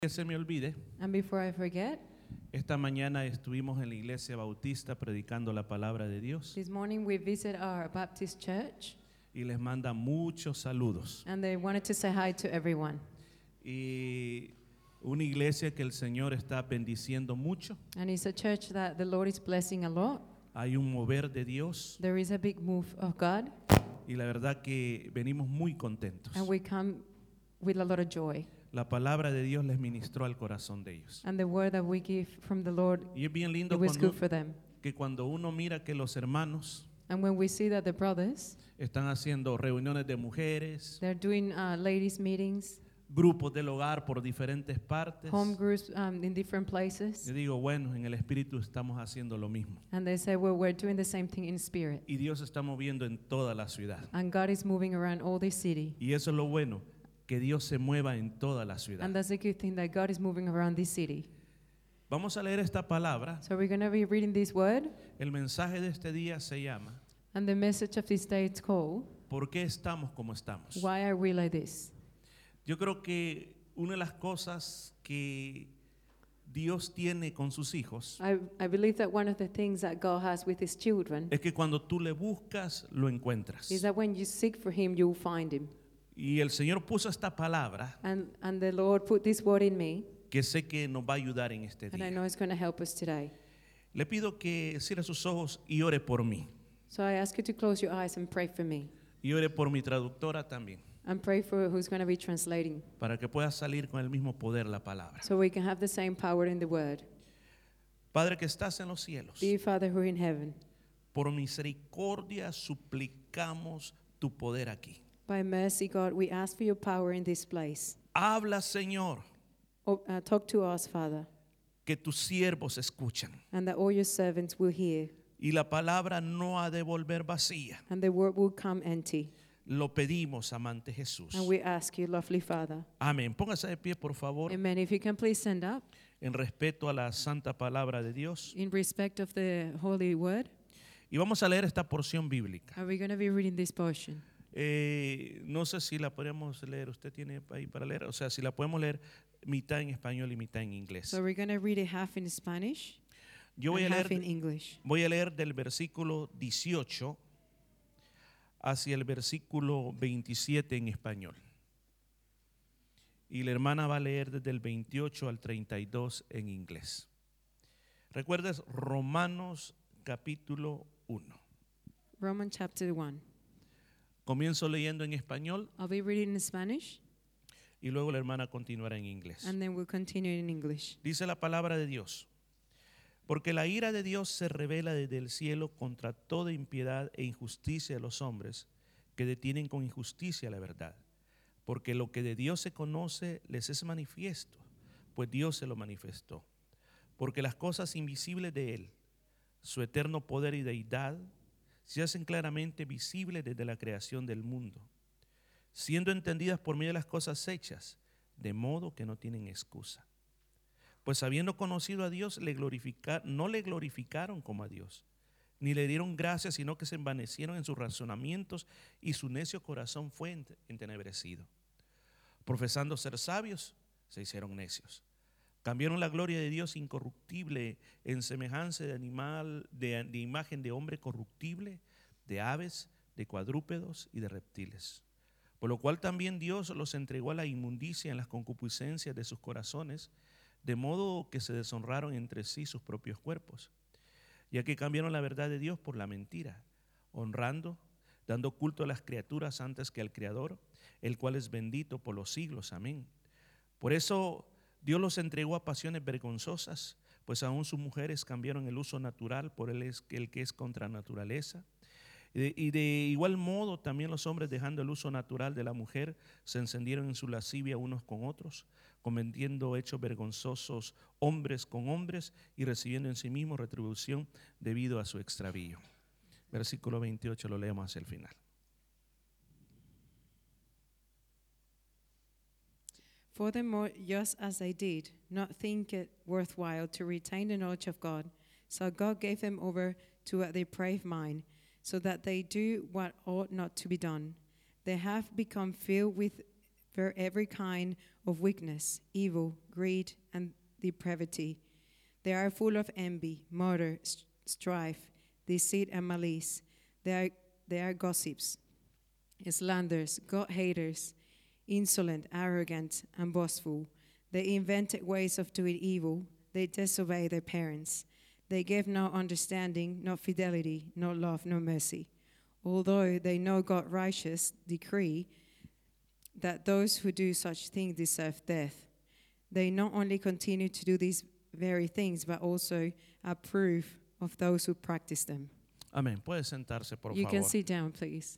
Que se me olvide, And before I forget, esta mañana estuvimos en la iglesia bautista predicando la palabra de Dios this morning we visit our Baptist church y les manda muchos saludos. and they wanted to say hi to everyone. Y una iglesia que el Señor está bendiciendo mucho. And it's a church that the Lord is blessing a lot. Hay un mover de Dios There is a big move of God y la verdad que venimos muy contentos. and we come with a lot of joy. La palabra de Dios les ministró al corazón de ellos. And the word that we give from the Lord, Y es bien lindo it was good for them. que cuando uno mira que los hermanos And when we see that the brothers, están haciendo reuniones de mujeres, they're doing ladies meetings, grupos del hogar por diferentes partes, home groups in different places. yo digo, bueno, en el Espíritu estamos haciendo lo mismo. And they say, well, we're doing the same thing in spirit. Y Dios se está moviendo en toda la ciudad. And God is moving around all this city. Y eso es lo bueno, que Dios se mueva en toda la ciudad. And that's a good thing, that God is moving around this city. Vamos a leer esta palabra. So we're going to be reading this word. El mensaje de este día se llama And the message of this day is called, ¿Por qué estamos como estamos? Why Are We Like This? Yo creo que una de las cosas que Dios tiene con sus hijos I believe that one of the things that God has with his children es que cuando tú le buscas, lo encuentras. is that when you seek for him, you'll find him. Y el Señor puso esta palabra And the Lord put this word in me, que sé que nos va a ayudar en este and I día. know it's going to help us today. Le pido que cierre sus ojos y ore por mí. So I ask you to close your eyes and pray for me. Y ore por mi traductora también, And pray for who's going to be translating, para que pueda salir con el mismo poder la palabra. so we can have the same power in the word. Padre que estás en los cielos, Dear Father who are in heaven, por misericordia suplicamos tu poder aquí. by mercy, God, we ask for your power in this place. Habla, Señor, Talk to us, Father, que tus siervos escuchan. and that all your servants will hear, Y la palabra no ha de volver vacía. and the word will come empty. Lo pedimos, amante Jesús. And we ask you, lovely Father. Amén. Póngase de pie, por favor, Amen. If you can please stand up en respeto a la santa palabra de Dios. in respect of the holy word. Y vamos a leer esta porción bíblica. Are we going to be reading this portion? No sé si la podemos leer. ¿Usted tiene ahí para leer? O sea, si la podemos leer mitad en español y mitad en inglés. So we're going to read it half in Spanish Yo voy a and half in leer, English. voy a leer del versículo 18 hacia el versículo 27 en español. Y la hermana va a leer desde el 28 al 32 en inglés. Recuerdas Romanos capítulo 1. Romans chapter 1. Comienzo leyendo en español I'll be reading in Spanish y luego la hermana continuará en inglés. and then we'll continue in English. Dice la palabra de Dios: porque la ira de Dios se revela desde el cielo contra toda impiedad e injusticia de los hombres que detienen con injusticia la verdad. Porque lo que de Dios se conoce les es manifiesto, pues Dios se lo manifestó. Porque las cosas invisibles de Él, su eterno poder y deidad, se hacen claramente visibles desde la creación del mundo, siendo entendidas por medio de las cosas hechas, de modo que no tienen excusa. Pues habiendo conocido a Dios, no le glorificaron como a Dios, ni le dieron gracias, sino que se envanecieron en sus razonamientos y su necio corazón fue entenebrecido. Profesando ser sabios, se hicieron necios. Cambiaron la gloria de Dios incorruptible en semejanza de animal, de imagen de hombre corruptible, de aves, de cuadrúpedos y de reptiles. Por lo cual también Dios los entregó a la inmundicia en las concupiscencias de sus corazones, de modo que se deshonraron entre sí sus propios cuerpos, ya que cambiaron la verdad de Dios por la mentira, honrando, dando culto a las criaturas antes que al Creador, el cual es bendito por los siglos. Amén. Por eso Dios los entregó a pasiones vergonzosas, pues aún sus mujeres cambiaron el uso natural por el que es contra naturaleza. Y de igual modo también los hombres, dejando el uso natural de la mujer, se encendieron en su lascivia unos con otros, cometiendo hechos vergonzosos hombres con hombres y recibiendo en sí mismos retribución debido a su extravío. Versículo 28 lo leemos hacia el final. Furthermore, just as they did not think it worthwhile to retain the knowledge of God, so God gave them over to a depraved mind, so that they do what ought not to be done. They have become filled with for every kind of weakness, evil, greed, and depravity. They are full of envy, murder, strife, deceit, and malice. They are gossips, slanderers, God-haters, insolent, arrogant, and boastful. They invent ways of doing evil. They disobey their parents. They give no understanding, no fidelity, no love, no mercy. Although they know God's righteous decree that those who do such things deserve death, they not only continue to do these very things, but also approve of those who practice them. Amén. Puede sentarse, por You can favor. sit down, please.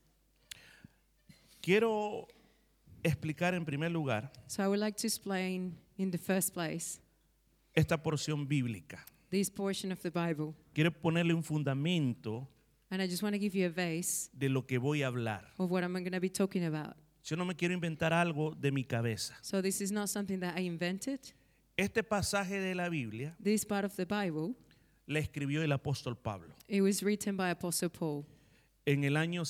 Quiero explicar en primer lugar So I would like to explain in the first place esta porción bíblica. this portion of the Bible. Quiero ponerle un fundamento And I just want to give you a base de lo que voy a hablar. of what I'm going to be talking about. Yo no me quiero inventar algo de mi cabeza. So this is not something that I invented. Este pasaje de la Biblia This part of the Bible, la escribió el apóstol Pablo it was written by Apostle Paul. en el año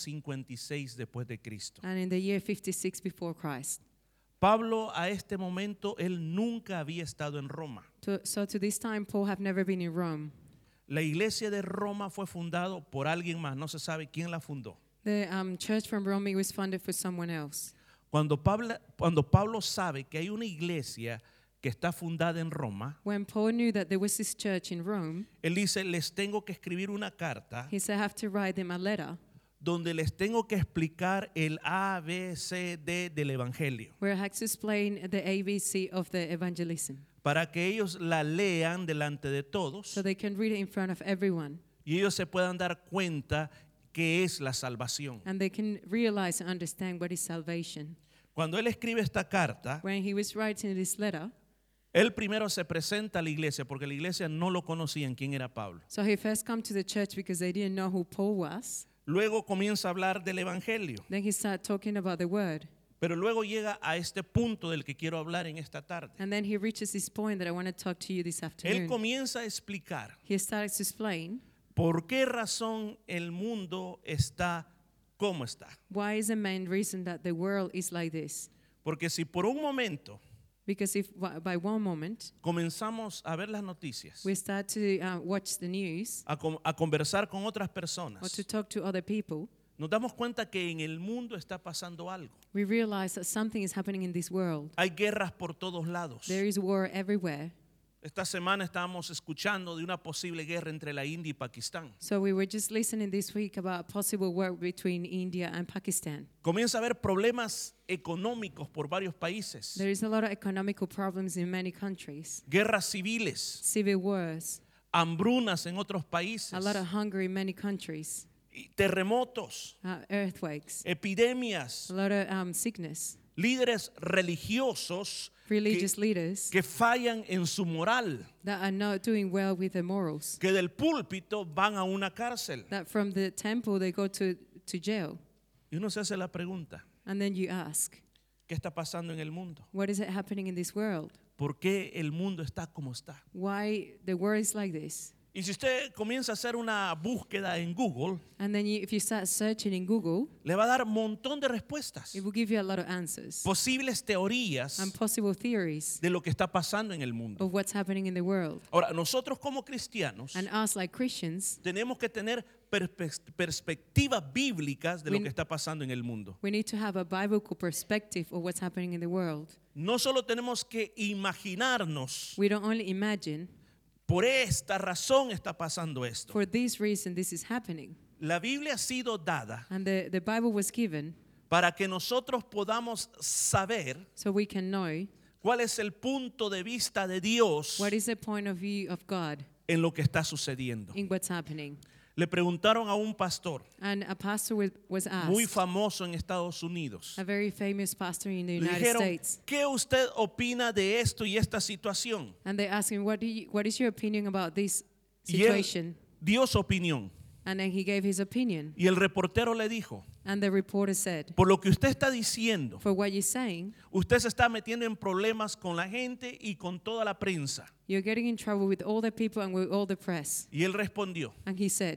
56 después de Cristo. And in the year 56 before Christ. Pablo a este momento él nunca había estado en Roma. So to this time, Paul have never been in Rome. La iglesia de Roma fue fundado por alguien más, no se sabe quién la fundó. The church from Rome, it was funded for someone else. Cuando Pablo sabe que hay una iglesia que está fundada en Roma, When Paul knew that there was this church in Rome, él dice, les tengo que escribir una carta he said, I have to write them a letter donde les tengo que explicar el A, B, C, D del Evangelio, where I had to explain the ABC of the evangelism para que ellos la lean delante de todos so they can read it in front of everyone y ellos se puedan dar cuenta que es la salvación. and they can realize and understand what is salvation. Cuando él escribe esta carta, When he was writing this letter, él primero se presenta a la iglesia porque la iglesia no lo conocían quién era Pablo. so he first come to the church because they didn't know who Paul was. Luego comienza a hablar del Evangelio, Then he started talking about the word. pero luego llega a este punto del que quiero hablar en esta tarde. And then he reaches this point that I want to talk to you this Él afternoon. comienza a explicar He starts to explain por qué razón el mundo está como está. why is the main reason that the world is like this. Porque si por un momento Because if by one moment comenzamos a ver las noticias, we start to watch the news a conversar con otras or personas, to talk to other people, nos damos cuenta que en el mundo está pasando algo. we realize that something is happening in this world. Hay guerras por todos lados. There is war everywhere. Esta semana estábamos escuchando de una posible guerra entre la India y Pakistán. So we were just listening this week about possible war between India and Pakistan. Comienza a haber problemas económicos por varios países, There is a lot of economical problems in many countries. guerras civiles, Civil wars, hambrunas en otros países, a lot of hunger in many countries, y terremotos, earthquakes, epidemias, a lot of sickness, líderes religiosos religious leaders que fallan en su moral, that are not doing well with their morals, que del púlpito van a una cárcel. that from the temple they go to jail. Y uno se hace la pregunta, And then you ask, ¿qué está pasando en el mundo? what is it happening in this world? ¿Por qué el mundo está como está? Why the world is like this? Y si usted comienza a hacer una búsqueda en Google, And then if you start searching in Google, le va a dar un montón de respuestas, it will give you a lot of answers posibles teorías and possible theories de lo que está pasando en el mundo. of what's happening in the world. Ahora, nosotros como cristianos And us, like Christians, tenemos que tener perspectivas bíblicas de lo We- que está pasando en el mundo. we need to have a biblical perspective of what's happening in the world. No solo tenemos que imaginarnos, We don't only imagine, por esta razón está pasando esto. for this reason this is happening. La Biblia ha sido dada And the Bible was given para que nosotros podamos saber so we can know cuál es el punto de vista de Dios what is the point of view of God en lo que está sucediendo. in what's happening. Le preguntaron a un pastor And a pastor was muy asked, famoso en Estados Unidos. a very famous pastor in the Le United dijeron, States, ¿qué usted opina de esto y esta situación? and they asked him, what is your opinion about this Y él situation? dio su opinión. And then he gave his opinion. Y el reportero le dijo, And the reporter said, por lo que usted está diciendo, for what you're saying, usted se está metiendo en problemas con la gente y con toda la prensa. you're getting in trouble with all the people and with all the press. Y él respondió, And he said,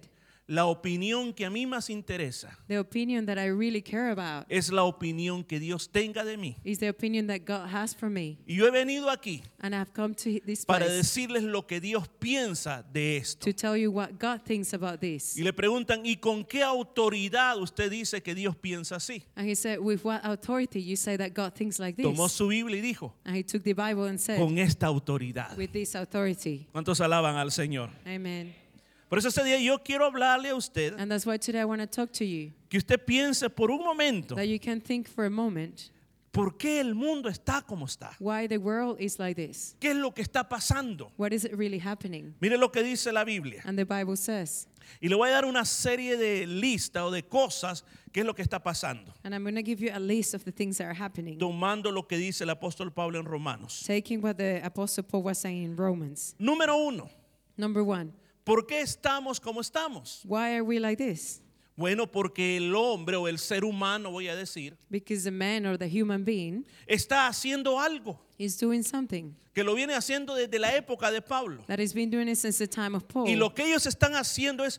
la opinión que a mí más interesa The opinion that I really care about es la opinión que Dios tenga de mí. is the opinion that God has for me. Y yo he venido aquí And I've come to this para place decirles lo que Dios piensa de esto. to tell you what God thinks about this. Y le preguntan, ¿y con qué autoridad usted dice que Dios piensa así? And he said, with what authority you say that God thinks like Tomó this? su Biblia y dijo, And he took the Bible and said, con esta autoridad. with this authority. ¿Cuántos alaban al Señor? Amen. Por eso ese día yo quiero hablarle a usted And that's why today I want to talk to you, que usted piense por un momento that you can think for a moment por qué el mundo está como está. why the world is like this. ¿Qué es lo que está pasando? What is it really happening? Mire lo que dice la Biblia. And the Bible says, Y le voy a dar una serie de listas o de cosas que es lo que está pasando. and I'm going to give you a list of the things that are happening, Tomando lo que dice el apóstol Pablo en Romanos. taking what the Apostle Paul was saying in Romans. Número 1. Number 1, ¿Por qué estamos como estamos? why are we like this? Bueno, porque el hombre o el ser humano, voy a decir, Because the man or the human being está haciendo algo is doing something que lo viene haciendo desde la época de Pablo. that has been doing it since the time of Paul. Y lo que ellos están haciendo es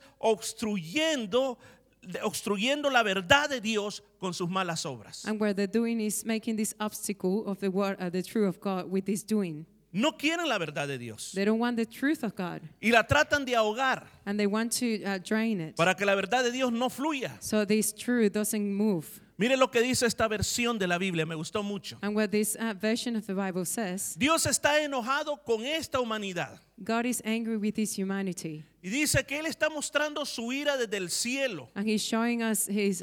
obstruyendo la verdad de Dios con sus malas obras. And what they're doing is making this obstacle of the word, the truth of God with this doing. No quieren la verdad de Dios They don't want the truth of God, y la tratan de ahogar and they want to drain it, para que la verdad de Dios no fluya. so this truth doesn't move. Mire lo que dice esta versión de la Biblia, me gustó mucho. And what this version of the Bible says, Dios está enojado con esta humanidad God is angry with this humanity, y dice que Él está mostrando su ira desde el cielo, and He's showing us His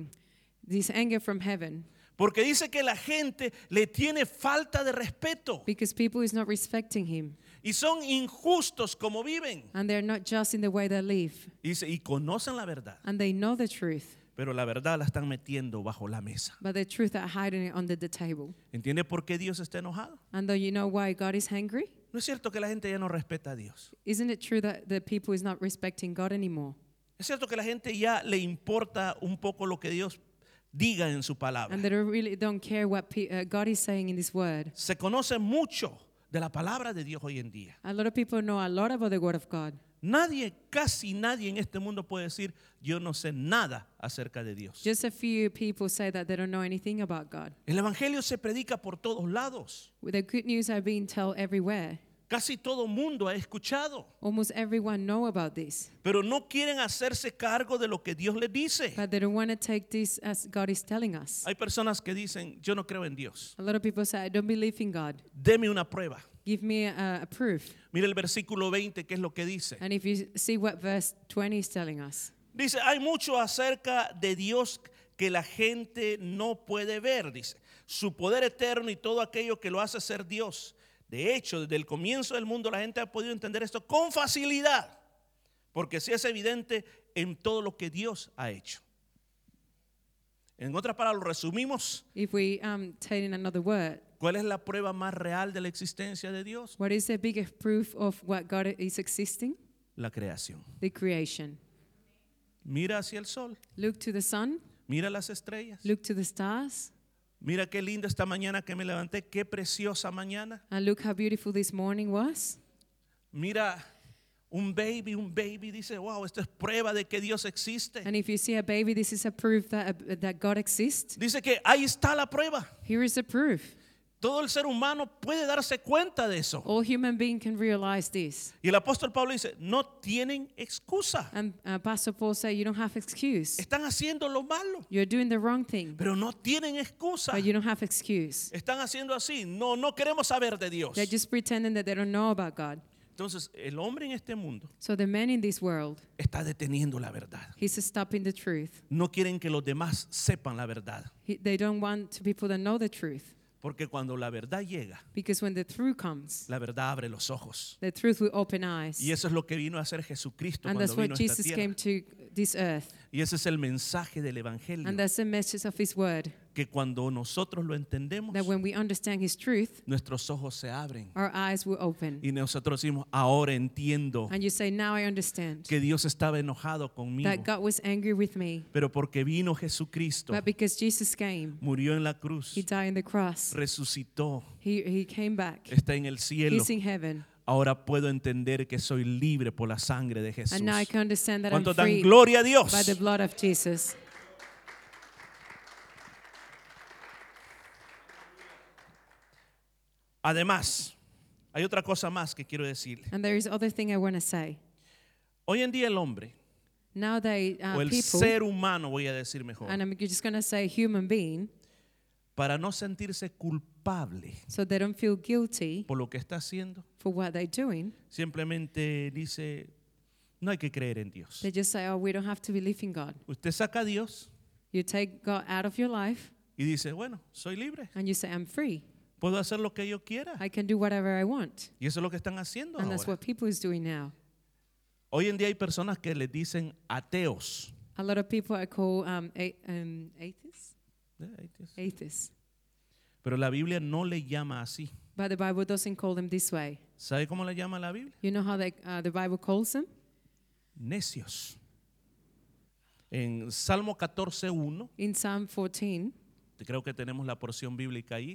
this anger from heaven, porque dice que la gente le tiene falta de respeto because people is not respecting Him, y son injustos como viven. and they're not just in the way they live, Dice, y conocen la verdad, and they know the truth, pero la verdad la están metiendo bajo la mesa. but the truth are hiding it under the table. ¿Entiende por qué Dios está enojado? And though you know why God is angry, No es cierto que la gente ya no respeta a Dios. isn't it true that the people is not respecting God anymore? Es cierto que la gente ya le importa un poco lo que Dios diga en su palabra. And they really don't care what God is saying in this word. Se conoce mucho de la palabra de Dios hoy en día. A lot of people know a lot about the word of God. Nadie, casi nadie en este mundo puede decir, yo no sé nada acerca de Dios. Just a few people say that they don't know anything about God. El evangelio se predica por todos lados. The good news are being told everywhere. Casi todo mundo ha escuchado, Almost everyone know about this, pero no quieren hacerse cargo de lo que Dios les dice. but they don't want to take this as God is telling us. Hay personas que dicen, yo no creo en Dios. A lot of people say, I don't believe in God. Deme una prueba. Give me a proof. Mira el versículo 20, que es lo que dice. And if you see what verse 20 is telling us, Dice, hay mucho acerca de Dios que la gente no puede ver, dice. Su poder eterno y todo aquello que lo hace ser Dios. De hecho, desde el comienzo del mundo la gente ha podido entender esto con facilidad, porque sí es evidente en todo lo que Dios ha hecho. En otras palabras, lo resumimos. if we take in another word, ¿Cuál es la prueba más real de la existencia de Dios? what is the biggest proof of what God is existing? La creación. The creation. Mira hacia el sol, Look to the sun, mira las estrellas. look to the stars, Mira qué linda esta mañana que me levanté, qué preciosa mañana. and look how beautiful this morning was. Mira un baby, dice, wow, esto es prueba de que Dios existe. And if you see a baby, this is a proof that God exists. Dice que ahí está la prueba. Here is the proof. Todo el ser humano puede darse cuenta de eso. All human beings can realize this. Y el apóstol Pablo dice, no tienen excusa. And Pastor Paul said, you don't have excuse. Están haciendo lo malo, You're doing the wrong thing, pero no tienen excusa. but you don't have excuse. Están haciendo así. No queremos saber de Dios. They're just pretending that they don't know about God. Entonces, el hombre en este mundo So the man in this world, está deteniendo la verdad. he's stopping the truth. No quieren que los demás sepan la verdad. They don't want people to know the truth. Porque cuando la verdad llega, Because when the truth comes, la verdad abre los ojos. the truth will open eyes. Y eso es lo que vino a hacer Jesucristo And cuando that's vino what a esta Jesus tierra. came to this earth. Y ese es el mensaje del evangelio. And that's the message of his word. Que cuando nosotros lo entendemos, That when we understand his truth, nuestros ojos se abren. our eyes will open. Y nosotros decimos, ahora entiendo And you say, now I understand que Dios estaba enojado conmigo. that God was angry with me. Pero porque vino Jesucristo, But because Jesus came, murió en la cruz, he died on the cross. resucitó, He came back. está en el cielo, He's in heaven. ahora puedo entender que soy libre por la sangre de Jesús. And now I can understand that I'm ¿Cuánto dan free gloria a Dios? by the blood of Jesus. Además, hay otra cosa más que quiero decir. And there is other thing I want to say. Hoy en día el hombre, Now they o el people, ser humano, voy a decir mejor, and I'm just going to say human being, para no sentirse culpable so they don't feel guilty por lo que está haciendo, for what they're doing. simplemente dice, no hay que creer en Dios. They just say, oh, we don't have to believe in God. Usted saca a Dios You take God out of your life y dice, bueno, soy libre, and you say, I'm free. puedo hacer lo que yo quiera. I can do whatever I want. Y eso es lo que están haciendo And that's ahora. what people is doing now. Hoy en día hay personas que les dicen ateos. A lot of people are called atheists. Atheists. Pero la Biblia no le llama así. But the Bible doesn't call them this way. ¿Sabe cómo le llama la Biblia? You know how the Bible calls them? Necios. En Salmo 14:1, In Psalm 14, creo que tenemos la porción bíblica ahí,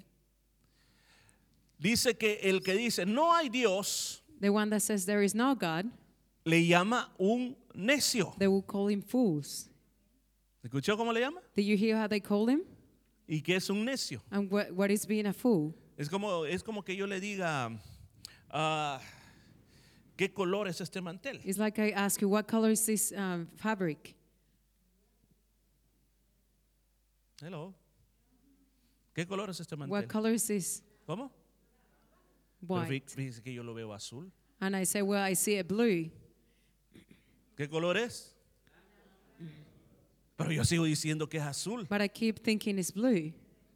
dice que el que dice no hay Dios the one that says there is no God, le llama un necio. they will call him fools. ¿Escuchó cómo le llama? Did you hear how they call him? ¿Y qué es un necio? And what is being a fool? Es como que yo le diga, ¿qué color es este mantel? It's like I ask you, what color is this fabric? Hello. ¿Qué color es este mantel? What color is this? ¿Cómo? Pero White. fíjese que yo lo veo azul. And I say, well, I see it blue. ¿Qué color es? Pero yo sigo diciendo que es azul. But I keep thinking it's blue.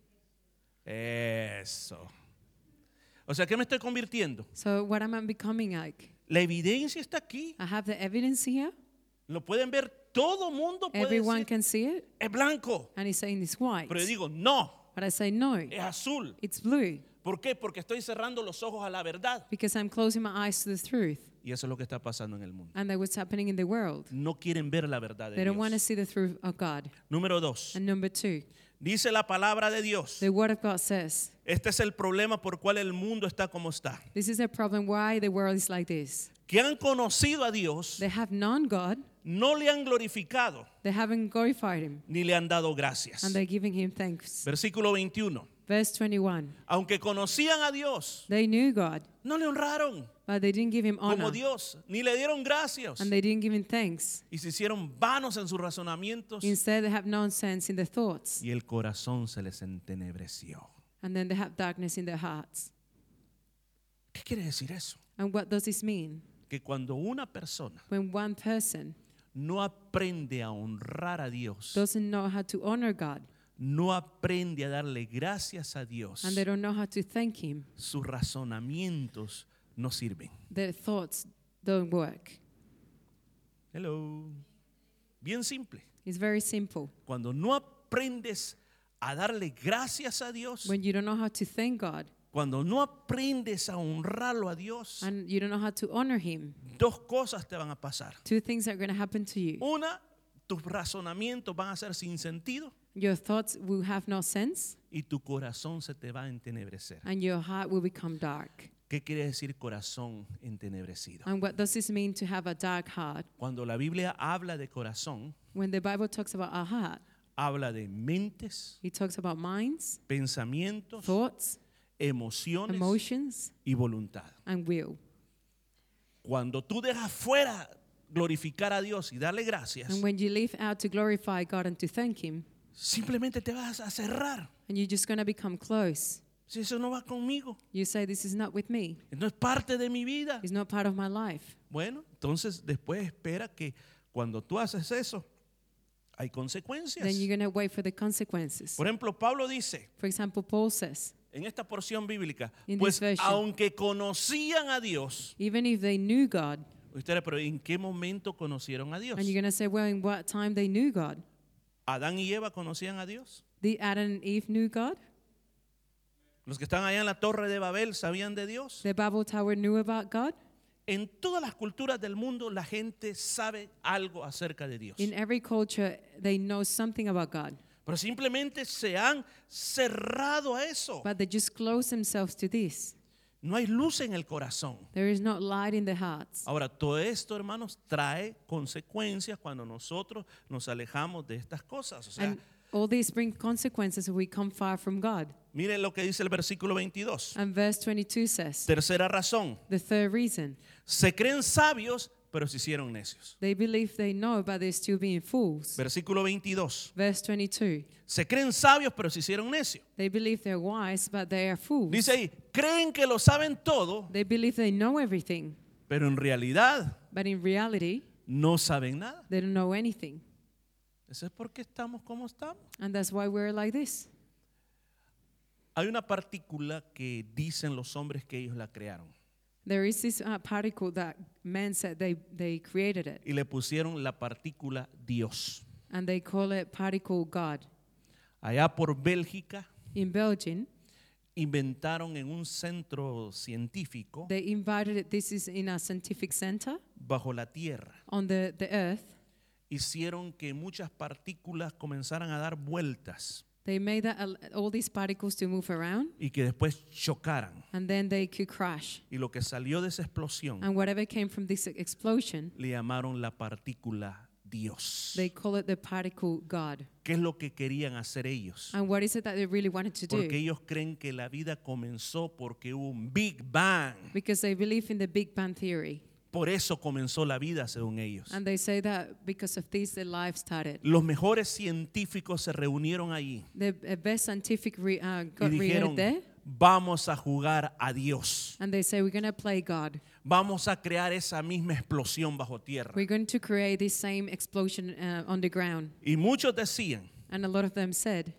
Eso. O sea, ¿qué me estoy convirtiendo? So what am I becoming like? La evidencia está aquí. I have the evidence here. Lo pueden ver, todo mundo puede Everyone decir, can see it. es blanco. And he's saying it's white. Pero yo digo, no, But I say, no, es azul. it's blue. ¿Por qué? Porque estoy cerrando los ojos a la verdad. Because I'm closing my eyes to the truth. Y eso es lo que está pasando en el mundo. And that's what's happening in the world. No quieren ver la verdad de They don't want to Dios. see the truth of God. Número 2. And number 2, Dice la palabra de Dios. the word of God says, Este es el problema por cual el mundo está como está. this is a problem why the world is like this. Que han conocido a Dios, They have known God, no le han glorificado, they haven't glorified him, ni le han dado gracias. and they're giving him thanks. Versículo 21. Verse 21, Aunque conocían a Dios, they knew God, no le honraron but they didn't give him como honor, Dios, ni le dieron gracias. and they didn't give him thanks. Y se hicieron vanos en sus razonamientos Instead, they have nonsense in their thoughts, y el corazón se les entenebreció. and then they have darkness in their hearts. ¿Qué quiere decir eso? And what does this mean? Que cuando una persona When one person no aprende a honrar a Dios, doesn't know how to honor God, no aprende a darle gracias a Dios, and they don't know how to thank him, sus razonamientos no sirven. their thoughts don't work. Hello. Bien simple. It's very simple. Cuando no aprendes a darle gracias a Dios, When you don't know how to thank God cuando no aprendes a honrarlo a Dios, and you don't know how to honor him, dos cosas te van a pasar. two things are going to happen to you. Una, tus razonamientos van a ser sin sentido Your thoughts will have no sense, y tu corazón se te va a entenebrecer. and your heart will become dark. ¿Qué quiere decir corazón entenebrecido? And what does this mean to have a dark heart? Cuando la Biblia habla de corazón, When the Bible talks about our heart, habla de mentes, it talks about minds, pensamientos, thoughts, emociones emotions, y voluntad. and will. Cuando tú dejas fuera glorificar a Dios y darle gracias, And when you leave out to glorify God and to thank him, simplemente te vas a cerrar. and you're just going to become close, Si eso no va conmigo, you say, this is not with me. no es parte de mi vida. It's not part of my life. Bueno, entonces después espera que cuando tú haces eso, hay consecuencias. Then you're going to wait for the consequences. Por ejemplo, Pablo dice For example, Paul says, en esta porción bíblica, In pues this version, aunque conocían a Dios, even if they knew God, ustedes, pero ¿en qué momento conocieron a Dios? and you're going to say, well, in what time they knew God? ¿Adán y Eva conocían a Dios? Did Adam and Eve knew God? ¿Los que están allá en la torre de Babel sabían de Dios? The Babel Tower knew about God? En todas las culturas del mundo la gente sabe algo acerca de Dios. In every culture, they know something about God, Pero simplemente se han cerrado a eso. but they just close themselves to this. No hay luz en el corazón. There is not light in the hearts. Ahora, todo esto, hermanos, trae consecuencias cuando nosotros nos alejamos de estas cosas. O sea, And all these bring consequences if we come far from God. miren lo que dice el versículo 22. And verse 22 says, Tercera razón. the third reason, Se creen sabios, pero se hicieron necios. they believe they know, but they're still being fools. Versículo 22. Verse 22, Se creen sabios, pero se hicieron necios. they believe they're wise, but they are fools. Dice ahí, creen que lo saben todo, They believe they know everything, pero en realidad but in reality, no saben nada. they don't know anything. Eso es porque estamos como estamos. And that's why we're like this. Hay una partícula que dicen los hombres que ellos la crearon There is this particle that men said they created it, y le pusieron la partícula Dios. and they call it particle God. Allá por Bélgica In Belgium, inventaron en un centro científico they invited it, this is in a scientific center bajo la tierra. on the earth. Hicieron que muchas partículas comenzaran a dar vueltas They made that, all these particles to move around, y que después chocaran. and then they could crash. Y lo que salió de esa explosión And whatever came from this explosion, le llamaron la partícula Dios. they call it the particle God. ¿Qué es lo que querían hacer ellos? And what is it that they really wanted to Porque do? ellos creen que la vida comenzó porque hubo un Big Bang. Because they believe in the Big Bang Theory. Por eso comenzó la vida, según ellos. And they say that because of this, the life started. Los mejores científicos se reunieron allí The best scientific y got dijeron, created there. vamos a jugar a Dios. And they say, we're going to play God. Vamos a crear esa misma explosión bajo tierra. We're going to create this same explosion on the ground. Y muchos decían, And a lot of them said,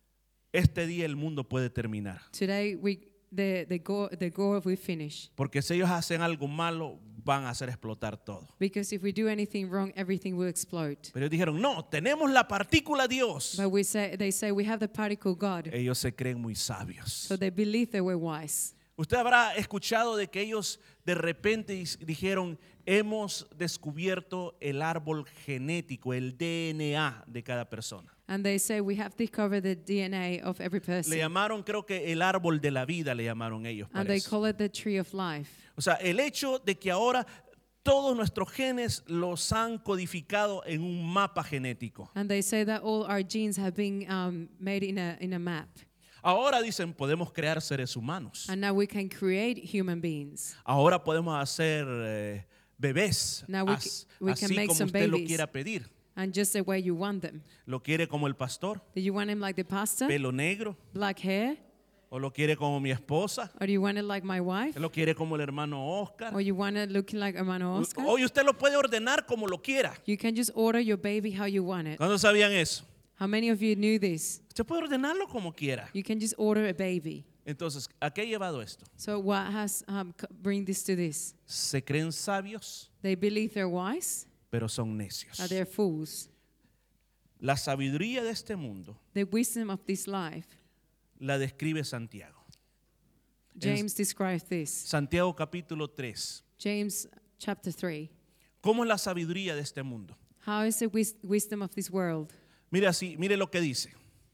este día el mundo puede terminar. today the goal we finish. Porque si ellos hacen algo malo, van a hacer explotar todo. Because if we do anything wrong, everything will explode. Pero ellos dijeron, no, tenemos la partícula Dios. But they say we have the particle God. Ellos se creen muy sabios. So they believe they were wise. Usted habrá escuchado de que ellos de repente dijeron, hemos descubierto el árbol genético, el DNA de cada persona. And they say we have discovered the DNA of every Le person. llamaron, creo que el árbol de la vida le llamaron ellos. And they parece. call it the tree of life. O sea, el hecho de que ahora todos nuestros genes los han codificado en un mapa genético. And they say that all our genes have been made in a map. Ahora dicen, podemos crear seres humanos. And now we can create human beings. Ahora podemos hacer bebés, Now we can así make como some usted lo babies. quiera pedir. And just the way you want them. ¿Lo quiere como el pastor? Do you want him like the pastor? ¿Pelo negro? Black hair? ¿O lo quiere como mi esposa? Or do you want it like my wife? ¿Lo quiere como el hermano Oscar? Or you want it looking like Hermano Oscar? Hoy usted lo puede ordenar como lo quiera. You can just order your baby how you want it. ¿Cuándo sabían eso? How many of you knew this? Usted puede ordenarlo como quiera. You can just order a baby. Entonces, ¿a qué ha llevado esto? So what has bring this to this? Se creen sabios, They believe they're wise, pero son necios. but they're fools. La sabiduría de este mundo The wisdom of this life, la describe Santiago. James describes this. Santiago capítulo 3. James chapter 3. ¿Cómo es la sabiduría de este mundo? How is the wisdom of this world? Mire así, mire lo que dice.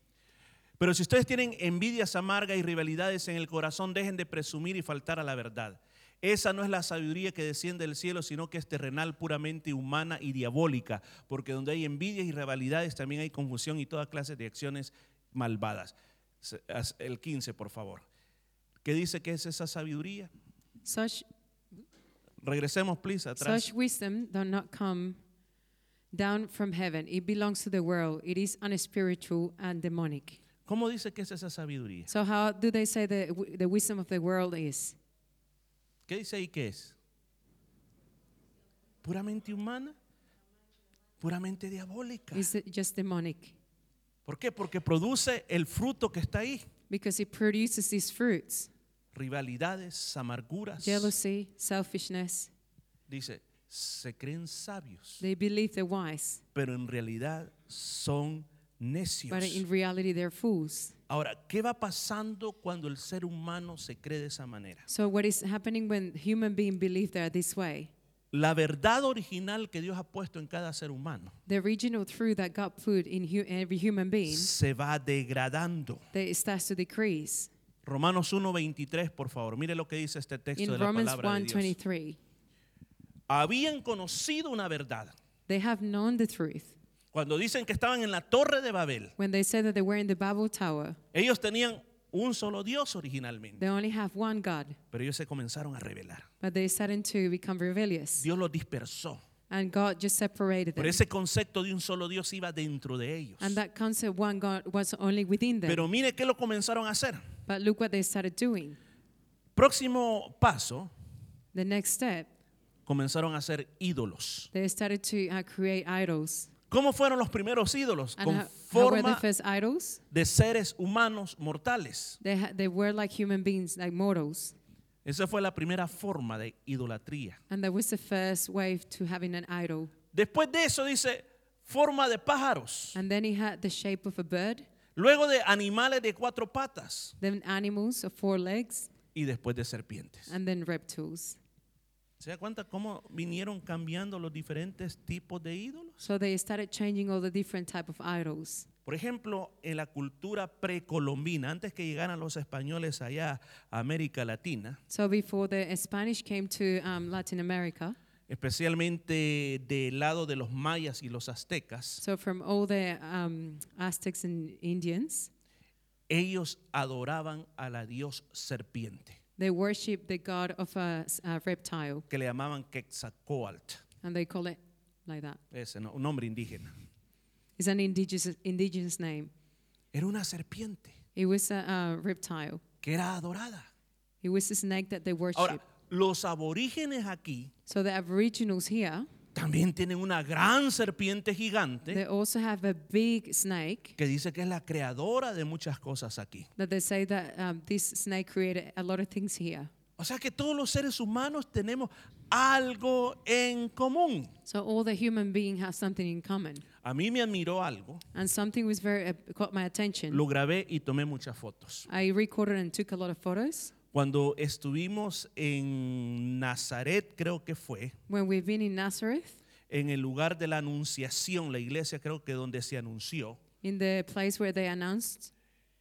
Pero si ustedes tienen envidias amargas y rivalidades en el corazón, dejen de presumir y faltar a la verdad. Esa no es la sabiduría que desciende del cielo, sino que es terrenal, puramente humana y diabólica. Porque donde hay envidias y rivalidades también hay confusión y toda clase de acciones malvadas. El 15, por favor. ¿Qué dice que es esa sabiduría? Regresemos, please, atrás. Such wisdom does not come down from heaven. It belongs to the world. It is unspiritual and demonic. ¿Cómo dice que es esa sabiduría? So how do they say the wisdom of the world is? ¿Qué dice ahí que es? ¿Puramente humana? ¿Puramente diabólica? Is it just demonic? ¿Por qué? Porque produce el fruto que está ahí. Because it produces these fruits. Rivalidades, amarguras. Jealousy, selfishness. Dice, se creen sabios, They believe they're wise, pero en realidad son necios. but in reality they're fools. Ahora, ¿qué va pasando cuando el ser humano se cree de esa manera? So what is happening when human beings believe they're this way? La verdad original que Dios ha puesto en cada ser humano The original truth that God put in every human being, se va degradando. it starts to decrease. Romanos 1:23, por favor. Mire lo que dice este texto de In la Romans palabra de Dios. 1:23, Habían conocido una verdad. they have known the truth. Cuando dicen que estaban en la torre de Babel, When they say that they were in the Babel Tower, ellos tenían un solo Dios originalmente, they only have one God, pero ellos se comenzaron a rebelar. but they started to become rebellious. Dios los dispersó. And God just separated Pero them. ese concepto de un solo Dios iba dentro de ellos. And that concept, one God, was only within them. Pero mire qué lo comenzaron a hacer. But look what they started doing. Próximo paso, The next step, comenzaron a hacer ídolos. they started to create idols. ¿Cómo fueron los primeros ídolos? And Con how were the forma first idols? de seres humanos mortales. They were like human beings, like mortals. Esa fue la primera forma de idolatría. And that was the first wave to having an idol. Después de eso dice forma de pájaros. And then he had the shape of a bird, Luego de animales de 4 patas. then animals of 4 legs, Y después de serpientes. and then reptiles. ¿Se da cuenta cómo vinieron cambiando los diferentes tipos de ídolos? So they started changing all the different type of idols. Por ejemplo, en la cultura precolombina, antes que llegaran los españoles allá a América Latina, So before the Spanish came to Latin America, especialmente del lado de los mayas y los aztecas, so from all the Aztecs and Indians, ellos adoraban a la dios serpiente, they worship the god of a reptile, que le llamaban Quetzalcóatl, and they call it like that. ese no, un nombre indígena. It's an indigenous name. Era una serpiente It was a reptile. que era adorada. It was a snake that they worship. Ahora, los aborígenes aquí So the Aboriginals here, también tienen una gran serpiente gigante they also have a big snake que dice que es la creadora de muchas cosas aquí. that they say that this snake created a lot of things here. O sea que todos los seres humanos tenemos algo en común. So all the human beings have something in common. A mí me admiró algo, And something was very caught my attention. lo grabé y tomé muchas fotos. I recorded and took a lot of photos. Cuando estuvimos en Nazaret, creo que fue, When we've been in Nazareth, en el lugar de la anunciación, la iglesia creo que donde se anunció, in the place where they announced,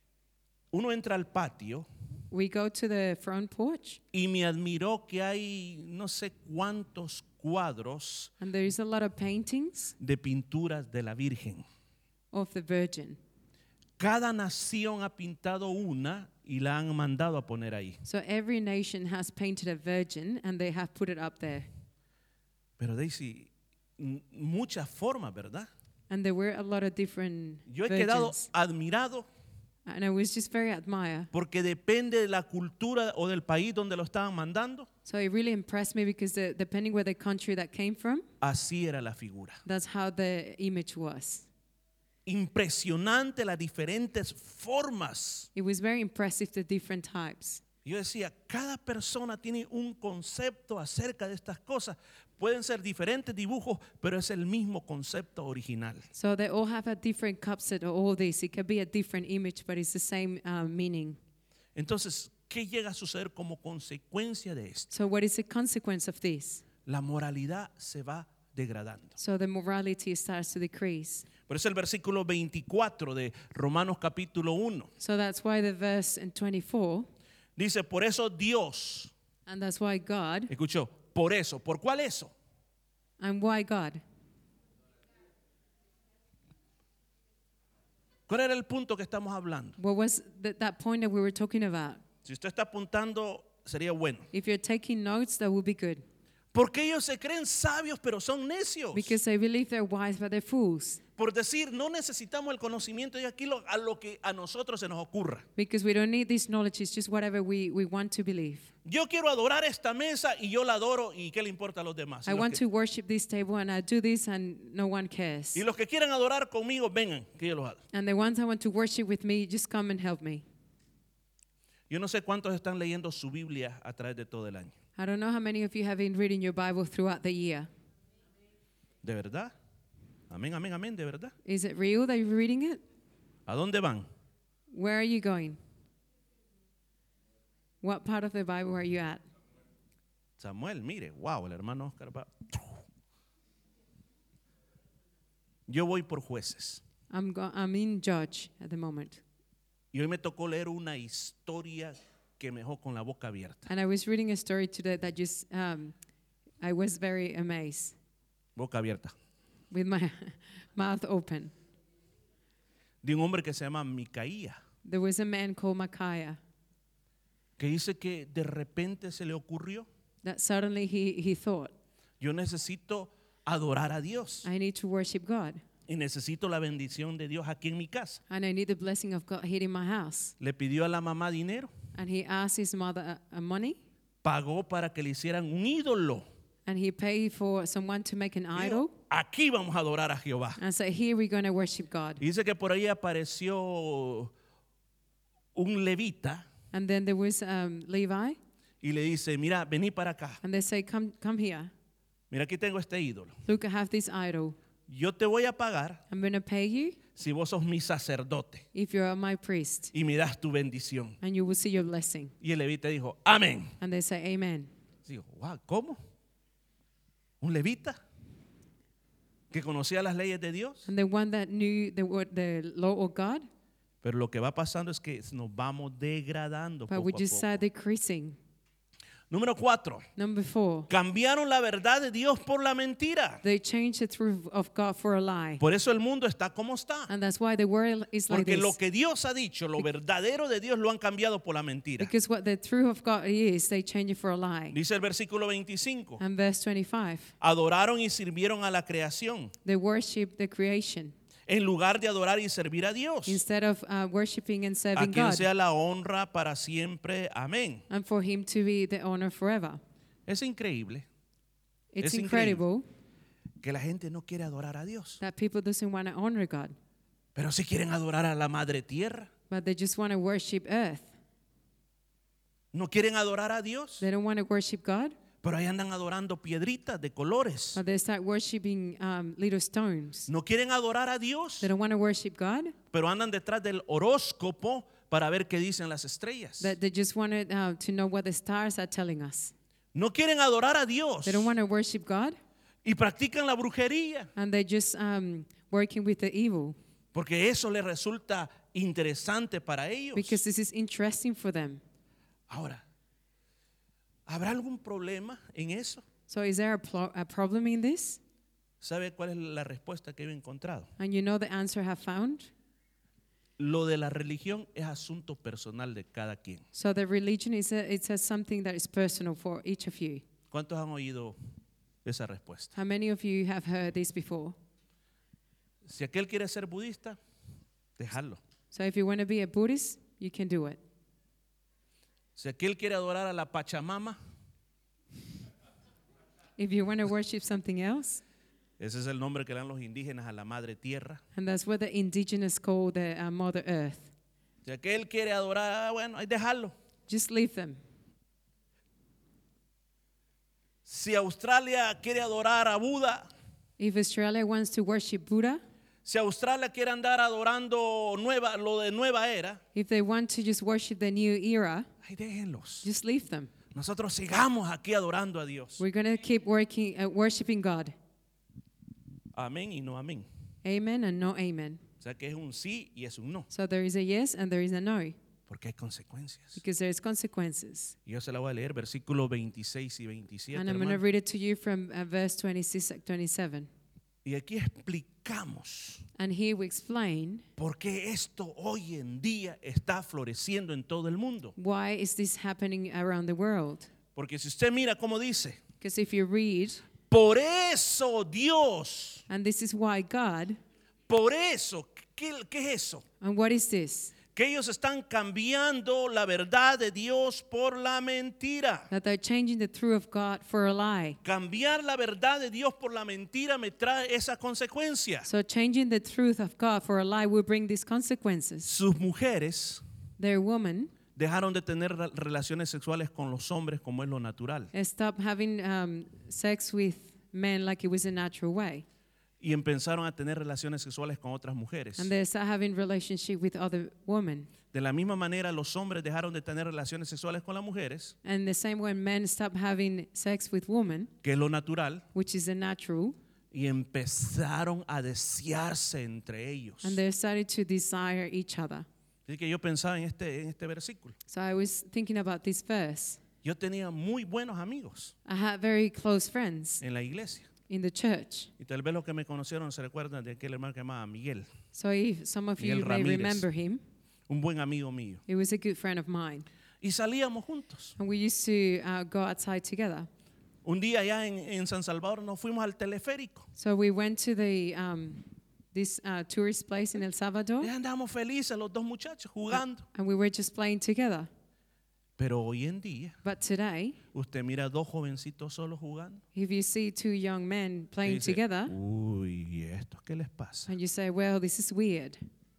uno entra al patio we go to the front porch, y me admiró que hay no sé cuántos cuadros and there is a lot of paintings de pinturas de la Virgen. of the Virgin. Cada nación ha pintado una y la han mandado a poner ahí. So every nation has painted a virgin, and they have put it up there. Pero Daisy, muchas formas, ¿verdad? And there were a lot of different Yo he quedado virgins. admirado And I was just very admired. porque depende de la cultura o del país donde lo estaban mandando. So it really impressed me because depending where the country that came from, Así era la figura. that's how the image was. Impresionante las diferentes formas. It was very impressive, the different types. Yo decía, cada persona tiene un concepto acerca de estas cosas. Pueden ser diferentes dibujos, pero es el mismo concepto original. So they all have a different concept of all this. It could be a different image, but it's the same meaning. Entonces, ¿qué llega a suceder como consecuencia de esto? So what is the consequence of this? La moralidad se va degradando. So the morality starts to decrease. Por eso el versículo 24 de Romanos capítulo 1 So that's why the verse in 24, dice, por eso Dios, and that's why God, escuchó, por eso, ¿por cuál eso? and why God? ¿Cuál era el punto que estamos hablando? What was that point that we were talking about? Si usted está apuntando, sería bueno. If you're taking notes, that would be good. Porque ellos se creen sabios, pero son necios. Because they believe they're wise, but they're fools. Por decir, no necesitamos el conocimiento y aquí a lo que a nosotros se nos ocurra. Because we don't need this knowledge, it's just whatever we want to believe. Yo quiero adorar esta mesa y yo la adoro y qué le importa a los demás. I want to worship this table and I do this and no one cares. Y los que quieran adorar conmigo, vengan, que yo los hago. And the ones I want to worship with me, just come and help me. Yo no sé cuántos están leyendo su Biblia a través de todo el año. I don't know how many of you have been reading your Bible throughout the year. ¿De verdad? Amén, amén, amén, de verdad. Is it real that you're reading it? ¿A dónde van? Where are you going? What part of the Bible are you at? Samuel, mire, wow, el hermano Oscar va. Yo voy por jueces. I'm in Judge at the moment. Y hoy me tocó leer una historia que me dejó con la boca abierta. And I was reading a story today that just, I was very amazed Boca abierta. with my mouth open. De un hombre que se llama Micaía, There was a man called Micaiah que dice que de repente se le ocurrió, that suddenly he thought, yo necesito adorar a Dios I need to worship God. y necesito la bendición de Dios aquí en mi casa. And I need the blessing of God here in my house. Le pidió a la mamá dinero, And he asked his mother money. pagó para que le hicieran un ídolo. And he paid for someone to make an Dijo, idol. aquí vamos a adorar a Jehová. And said, here we're going to worship God. Y dice que por ahí apareció un levita And then there was Levi. y le dice, mira, vení para acá. And they say, come here. Mira, aquí tengo este ídolo. Look, I have this idol. Yo te voy a pagar I'm going to pay you si vos sos mi sacerdote if you're my priest. y me das tu bendición. And you will see your blessing. Y el levita dijo, amén. And they say, amen. Digo, wow, ¿cómo? ¿Un levita? ¿Que conocía las leyes de Dios? And the one that knew the law of God. Pero lo que va pasando es que nos vamos degradando But poco we a just poco. start decreasing. Número 4. Number 4. Cambiaron la verdad de Dios por la mentira. They changed the truth of God for a lie. Por eso el mundo está como está. And that's why the world is like Porque lo this. que Dios ha dicho, lo verdadero de Dios, lo han cambiado por la mentira. Because what the truth of God is, they change it for a lie. Dice el versículo 25. And verse 25. Adoraron y sirvieron a la creación They worship the creation en lugar de adorar y servir a Dios. instead of worshiping and A serving quien God. sea la honra para siempre. Amén. And for him to be the honor forever. Es increíble It's Es incredible que la gente no quiere adorar a Dios, that people doesn't want to honor God, pero sí quieren adorar a la madre tierra. but they just want to worship earth. No quieren adorar a Dios, They don't want to worship God, pero ahí andan adorando piedritas de colores. but they start worshiping little stones. No quieren adorar a Dios, They don't want to worship God, pero andan detrás del horóscopo para ver qué dicen las estrellas. that they just wanted to know what the stars are telling us. No quieren adorar a Dios They don't want to worship God, y practican la brujería, and they just working with the evil porque eso les resulta interesante para ellos. because this is interesting for them. Ahora, ¿habrá algún problema en eso? So is there a problem in this? ¿Sabe cuál es la respuesta que he encontrado? And you know the answer I have found? Lo de la religión es asunto personal de cada quien. So the religion it's something that is personal for each of you. ¿Cuántos han oído esa respuesta? How many of you have heard this before? Si aquel quiere ser budista, déjalo. So if you want to be a Buddhist, you can do it. Si aquel quiere adorar a la Pachamama, If you want to worship something else, ese es el nombre que le dan los indígenas a la madre tierra. and that's what the indigenous call the Mother Earth. Si aquel quiere adorar, bueno, hay dejarlo. Just leave them. Si Australia quiere adorar a Buda, If Australia wants to worship Buddha, si Australia quiere andar adorando lo de nueva era, if they want to just worship the new era, ahí déjenlos. just leave them. Nosotros sigamos aquí adorando a Dios. We're going to keep worshiping God. Amén y no amén. Amen and no amen. O sea que es un sí y es un no, So there is a yes and there is a no porque hay consecuencias. because there is consequences. Y yo se la voy a leer, versículos 26 y 27. And I'm going to hermano. read it to you from verse 26, 27. Y aquí explicamos And here we explain por qué esto hoy en día está floreciendo en todo el mundo. why is this happening around the world. Porque si usted mira cómo dice, Because if you read, por eso Dios, and this is why God, por eso, ¿qué es eso? and what is this? Que ellos están cambiando la verdad de Dios por la mentira. That they're changing the truth of God for a lie. Cambiar la verdad de Dios por la mentira me trae esa consecuencia. So changing the truth of God for a lie will bring these consequences. Sus mujeres Their woman dejaron de tener relaciones sexuales con los hombres como es lo natural stopped having sex with men like it was a natural way. y empezaron a tener relaciones sexuales con otras mujeres. And they start having relationship with other women. De la misma manera, los hombres dejaron de tener relaciones sexuales con las mujeres, And the same way men stop having sex with women, que es lo natural, which is a natural, y empezaron a desearse entre ellos. and they started to desire each other. Así que yo pensaba en este versículo. So I was thinking about this verse. Yo tenía muy buenos amigos I had very close friends en la iglesia. in the church. Y tal vez los que me conocieron se recuerdan de aquel hermano que llamaba Miguel, So if some of Miguel you may Ramírez. remember him, un buen amigo mío. he was a good friend of mine. Y salíamos juntos. And we used to go outside together. Un día allá en San Salvador nos fuimos al teleférico. So we went to the this tourist place in El Salvador, Y andábamos felices los dos muchachos jugando. and we were just playing together. Pero hoy en día, But today, usted mira dos jovencitos solos jugando. if you see two young men Y playing dice, together, uy, ¿y esto qué les pasa? and you say, well, this is weird.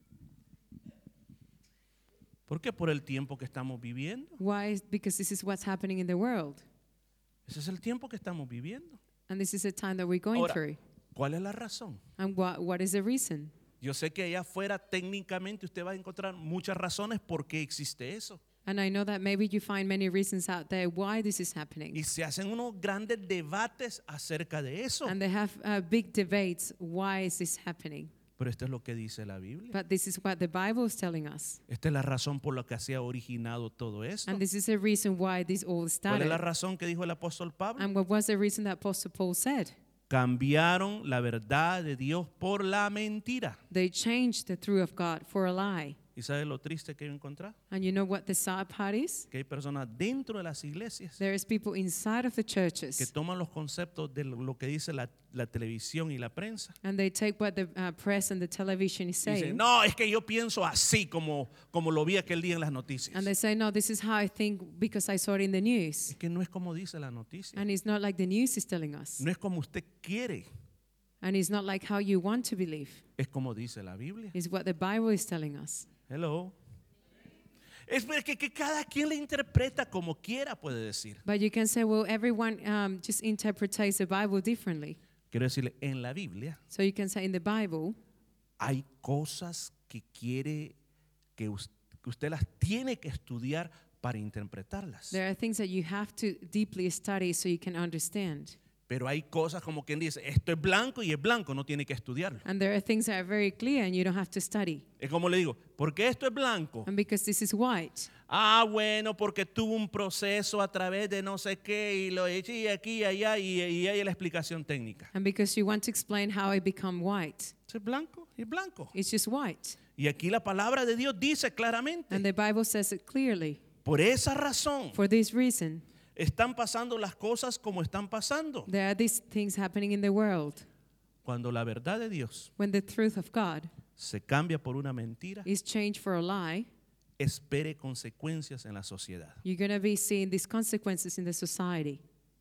¿Por qué? Por el tiempo que estamos viviendo. Why? Because this is what's happening in the world. Ese es el tiempo que estamos viviendo. And this is the time that we're going Ahora, through. ¿cuál es la razón? And what is the reason? Yo sé que allá afuera técnicamente usted va a encontrar muchas razones por qué existe eso. And I know that maybe you find many reasons out there why this is happening. Y se hacen unos grandes debates acerca de eso. And they have big debates. Why is this happening? Pero esto es lo que dice la Biblia. But this is what the Bible is telling us. Esta es la razón por la que se ha originado todo esto. And this is the reason why this all ¿Cuál es started. la razón que dijo el apóstol Pablo? And what was the reason that Apostle Paul said? Cambiaron la verdad de Dios por la mentira. They changed the truth of God for a lie. ¿Y sabe lo triste que yo encontré? And you know what the sad part is? Que hay personas dentro de las iglesias There is people inside of the que churches, toman los conceptos de lo que dice la televisión y la prensa. and they take what the press and the television is Y dicen, saying, no, es que yo pienso así como lo vi aquel día en las noticias. and they say, no, this is how I think because I saw it in the news. Es que no es como dice la noticia. And it's not like the news is telling us. No es como usted quiere. And it's not like how you want to believe. Es como dice la Biblia. It's what the Bible is telling us. Hello. Es que cada quien le interpreta como quiera, puede decir. But you can say, well, everyone just interprets the Bible differently. Quiero decirle, en la Biblia So you can say in the Bible, hay cosas que quiere que usted las tiene que estudiar para interpretarlas. there are things that you have to deeply study so you can understand. Pero hay cosas como quien dice, esto es blanco y es blanco, no tiene que estudiarlo. And there are things that are very clear and you don't have to study. Es como le digo, porque esto es blanco. And because this is white, Ah, bueno, porque tuvo un proceso a través de no sé qué y lo eché y aquí y allá y hay la explicación técnica. and because you want to explain how it become white, Es blanco y blanco. it's just white. Y aquí la palabra de Dios dice claramente, And the Bible says it clearly. por esa razón For this reason, están pasando las cosas como están pasando. there are these things happening in the world. Cuando la verdad de Dios When the truth of God se cambia por una mentira, is changed for a lie, espere consecuencias en la sociedad. you're going to be seeing these consequences in the society.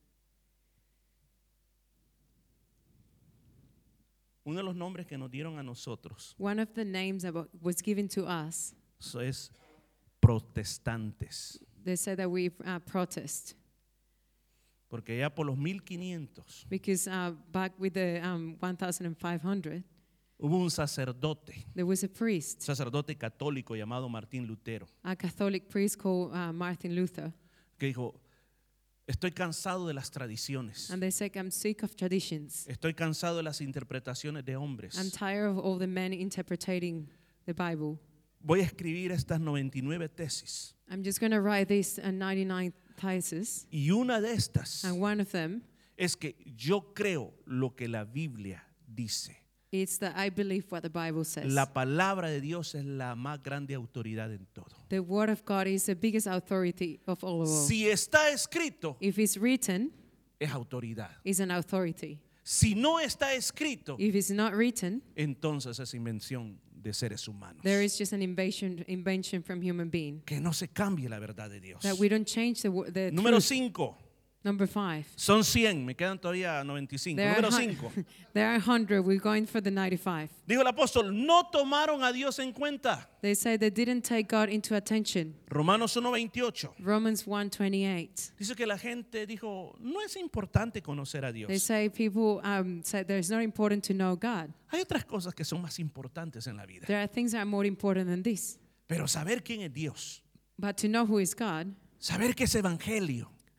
Uno de los nombres que nos dieron a nosotros One of the names that was given to us, eso es protestantes. they said that we protest. Porque ya por los 1500 Because back with the 1500, hubo un sacerdote there was a priest, católico llamado Martín Lutero, a Catholic priest called Martin Luther. que dijo, estoy cansado de las tradiciones, And they said, I'm sick of traditions. estoy cansado de las interpretaciones de hombres. I'm tired of all the men interpreting the Bible. Voy a escribir estas 99 tesis. I'm just going to write these 99 theses. Y una de estas And one of them es que yo creo lo que la Biblia dice. is that I believe what the Bible says. La palabra de Dios es la más grande autoridad en todo. The Word of God is the biggest authority of all. Si está escrito, If it's written, es autoridad. it's an authority. Si no está escrito, If it's not written, entonces es invención de seres humanos. there is just an invention from human being. Que no se cambie la verdad de Dios. That we don't change the Número truth. 5. Number 5. Son 100, me quedan todavía 95. Número 5. There are 100. We're going for the 95. Dijo el apóstol, no tomaron a Dios en cuenta. They say they didn't take God into attention. Romanos 1:28. Romans 1:28. Dice que la gente dijo, no es importante conocer a Dios. They say people say that it's not important to know God. Hay otras cosas que son más importantes en la vida. There are things that are more important than this. Pero saber quién es Dios, But to know who is God saber que es evangelio,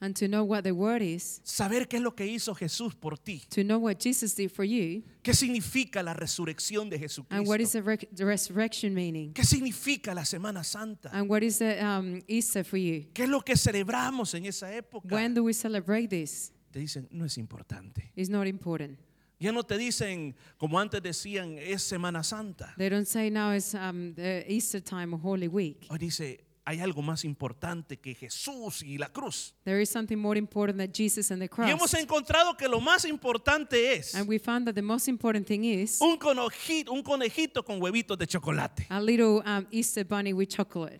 and to know what the word is, saber qué es lo que hizo Jesús por ti, to know what Jesus did for you, qué significa la resurrección de and what is Jesucristo, the resurrection meaning, qué significa la Semana Santa, and what is the Easter for you. qué es lo que celebramos en esa época. When do we celebrate this? Te dicen, no es importante. It's not important. Ya no te dicen, como antes decían, es Semana Santa. They don't say now it's the Easter time or Holy Week. Hoy dice, hay algo más importante que Jesús y la cruz. There is something more important than Jesus and the Y hemos cross. encontrado que lo más importante es And we found that the most important thing is un conejito con huevitos de chocolate. a little Easter bunny with chocolate.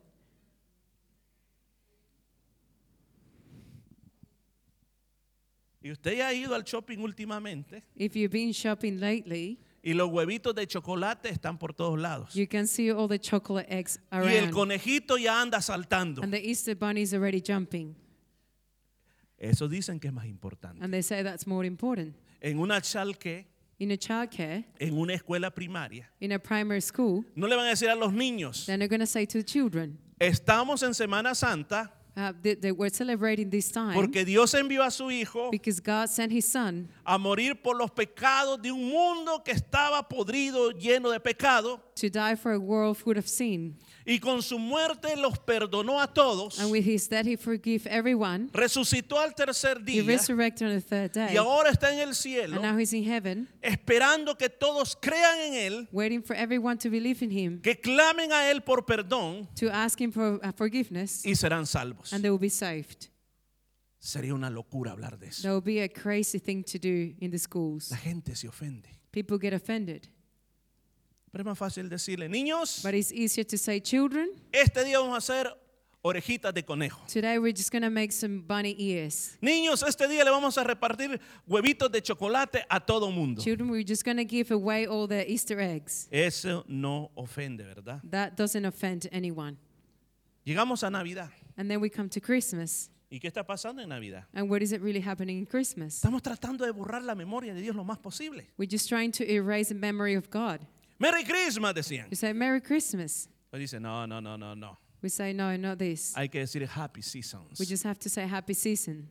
Y usted ya ha ido al shopping últimamente If you've been shopping lately, y los huevitos de chocolate están por todos lados. you can see all the chocolate eggs Y el around. conejito ya anda saltando. And the Easter bunny is already jumping. Eso dicen que es más importante. And they say that's more important. En una chalque, In a childcare, en una escuela primaria, in a primary school, no le van a decir a los niños, then they're going to say to the children, estamos en Semana Santa we're celebrating this time porque Dios envió a su Hijo because God sent his son a morir por los pecados de un mundo que estaba podrido, lleno de pecado, to die for a world full of sin. y con su muerte los perdonó a todos, And with his death, he forgave everyone. resucitó al tercer He día resurrected on the third day. y ahora está en el cielo, And now he's in heaven, esperando que todos crean en Él, waiting for everyone to believe in him, que clamen a Él por perdón to ask him for forgiveness, y serán salvos. and they will be saved. Sería una locura hablar de eso. That will be a crazy thing to do in the schools. La gente se ofende. People get offended. Pero es más fácil decirle, niños, But it's easier to say, children, este día vamos a hacer orejitas de conejo. today we're just going to make some bunny ears. Niños, este día le vamos a repartir huevitos de chocolate a todo mundo. Children, we're just going to give away all the Easter eggs. Eso no ofende, ¿verdad? That doesn't offend anyone. Llegamos a Navidad. And then we come to Christmas. ¿Y qué está pasando en Navidad? And what is it really happening in Christmas? Estamos tratando de borrar la memoria de Dios lo más posible. We're just trying to erase the memory of God. Merry Christmas, decían. We say, Merry Christmas. Pues dice, no, no, no, no, no. We say, no, not this. Hay que decir Happy Seasons. We just have to say Happy Season.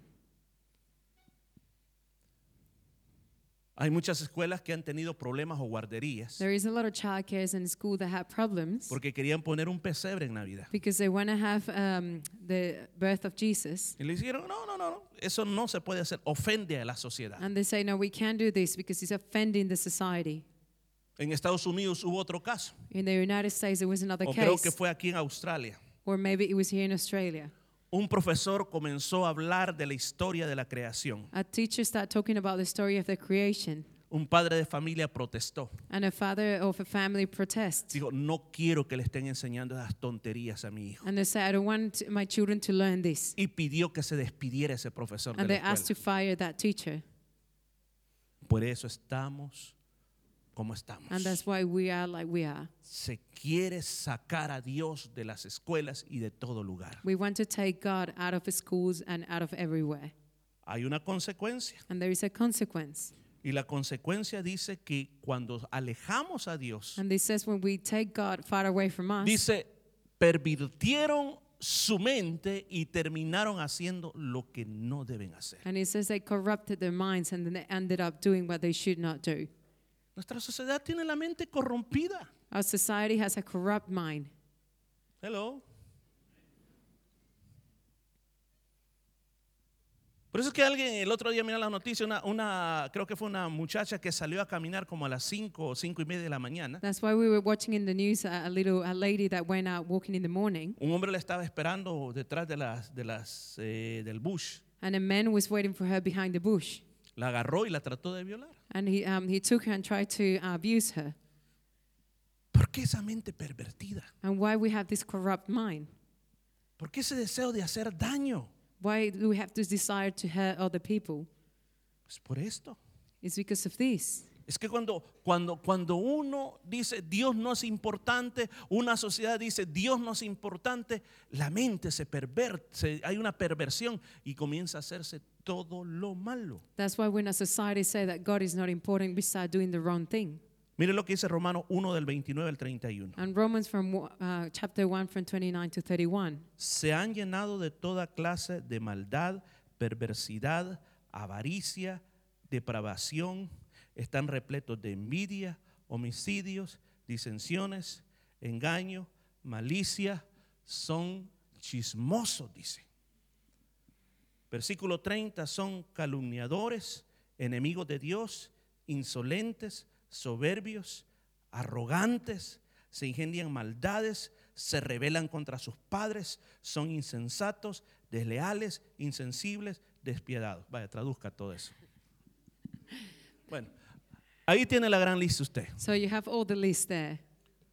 Hay muchas escuelas que han tenido problemas o guarderías There is a lot of childcares in school that have problems porque querían poner un pesebre en Navidad. because they want to have the birth of Jesus. Y le dijeron, no, no, no, no, eso no se puede hacer, ofende a la sociedad. And they say, no, we can't do this because it's offending the society. En Estados Unidos hubo otro caso, In the United States, there was another o creo case, que fue aquí en Australia. or maybe it was here in Australia. Un profesor comenzó a hablar de la historia de la creación. A teacher started talking about the story of the creation, Un padre de familia protestó. and a father of a family protests. Dijo, no quiero que le estén enseñando esas tonterías a mi hijo. And they said, I don't want my children to learn this. Y pidió que se despidiera ese profesor de And la they asked to escuela. fire that teacher. Por eso estamos como estamos. And that's why we are like we are. Se quiere sacar a Dios de las escuelas y de todo lugar. We want to take God out of the schools and out of everywhere. Hay una consecuencia. And there is a consequence. Y la consecuencia dice que cuando alejamos a Dios, And this says when we take God far away from us, dice, pervirtieron su mente y terminaron haciendo lo que no deben hacer. and it says they corrupted their minds and then they ended up doing what they should not do. Nuestra sociedad tiene la mente corrompida. Our society has a corrupt mind. Hello. Por eso es que alguien el otro día miró la noticia, creo que fue una muchacha que salió a caminar como a las 5 o 5:30 de la mañana. That's why we were watching in the news a lady that went out walking in the morning, Un hombre la estaba esperando detrás del bush. and a man was waiting for her behind the bush. La agarró y la trató de violar. And he took her and tried to abuse her. ¿Por qué esa mente pervertida? And why we have this corrupt mind? ¿Por qué ese deseo de hacer daño? Why do we have this desire to hurt other people? Pues por esto. It's because of this. Es que cuando uno dice Dios no es importante, una sociedad dice Dios no es importante, la mente se pervierte, hay una perversión y comienza a hacerse todo lo malo. That's why when a society say that God is not important, we start doing the wrong thing. Mire lo que dice Romanos 1 del 29 al 31. And Romans from chapter 1 from 29 to 31. Se han llenado de toda clase de maldad, perversidad, avaricia, depravación, están repletos de envidia, homicidios, disensiones, engaño, malicia, son chismosos, dice. Versículo 30, son calumniadores, enemigos de Dios, insolentes, soberbios, arrogantes, se ingenian maldades, se rebelan contra sus padres, son insensatos, desleales, insensibles, despiadados. Vaya, traduzca todo eso. Bueno, ahí tiene la gran lista usted. So you have all the list there.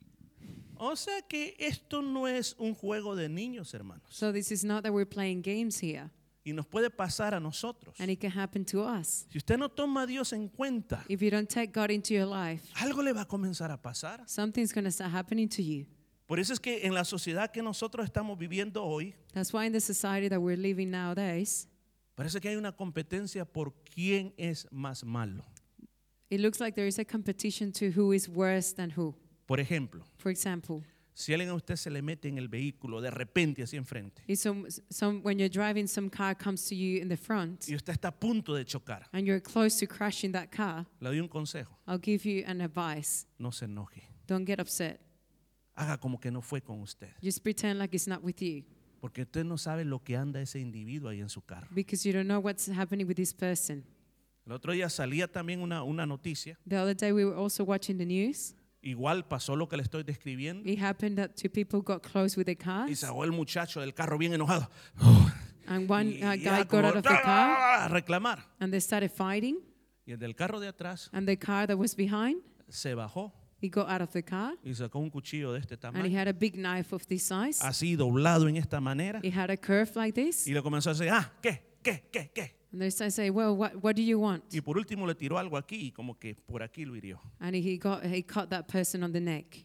O sea que esto no es un juego de niños, hermanos. So this is not that we're playing games here. Y nos puede pasar a nosotros. And it can happen to us. Si usted no toma a Dios en cuenta, If you don't take God into your life, algo le va a comenzar a pasar. something's going to start happening to you. Por eso es que en la sociedad que nosotros estamos viviendo hoy, That's why in the society that we're living nowadays, parece que hay una competencia por quién es más malo. it looks like there is a competition to who is worse than who. Por ejemplo, For example, si alguien a usted se le mete en el vehículo de repente así enfrente if when you're driving, some car comes to you in the front y usted está a punto de chocar, and you're close to crashing that car, le doy un consejo: I'll give you an advice. no se enoje, Don't get upset. haga como que no fue con usted, Just pretend like it's not with you, porque usted no sabe lo que anda ese individuo ahí en su carro. because you don't know what's happening with this person. El otro día salía también una noticia, The other day we were also watching the news. igual pasó lo que le estoy describiendo, It happened that two people got close with their y cars, salió el muchacho del carro bien enojado and one y guy ya got como, out of the car, a reclamar, and they started fighting, y el del carro de atrás and the car that was behind, se bajó he got out of the car, y sacó un cuchillo de este and he tamaño, had a big knife of this size. así doblado en esta manera, He had a curve like this, y le comenzó a decir, ¿qué? and they started saying, well, what do you want? Y por último le tiró algo aquí y como que por aquí lo hirió. And he cut that person on the neck.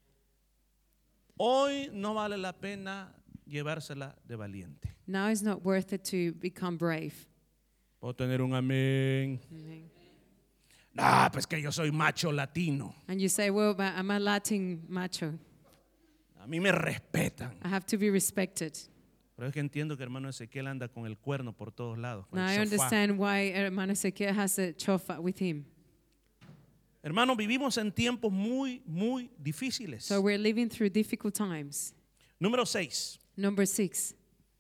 Hoy no vale la pena llevársela de valiente. Now it's not worth it to become brave. Puedo tener un amén. Pues que yo soy macho latino. And you say, well, but I'm a Latin macho. A mí me respetan. I have to be respected. Pero es que entiendo que hermano Ezequiel anda con el cuerno por todos lados. con Now el I sofá. understand why Hermano Ezequiel has a chofa with him. Hermano, vivimos en tiempos muy, muy difíciles. So we're living through difficult times. Número 6. Number 6,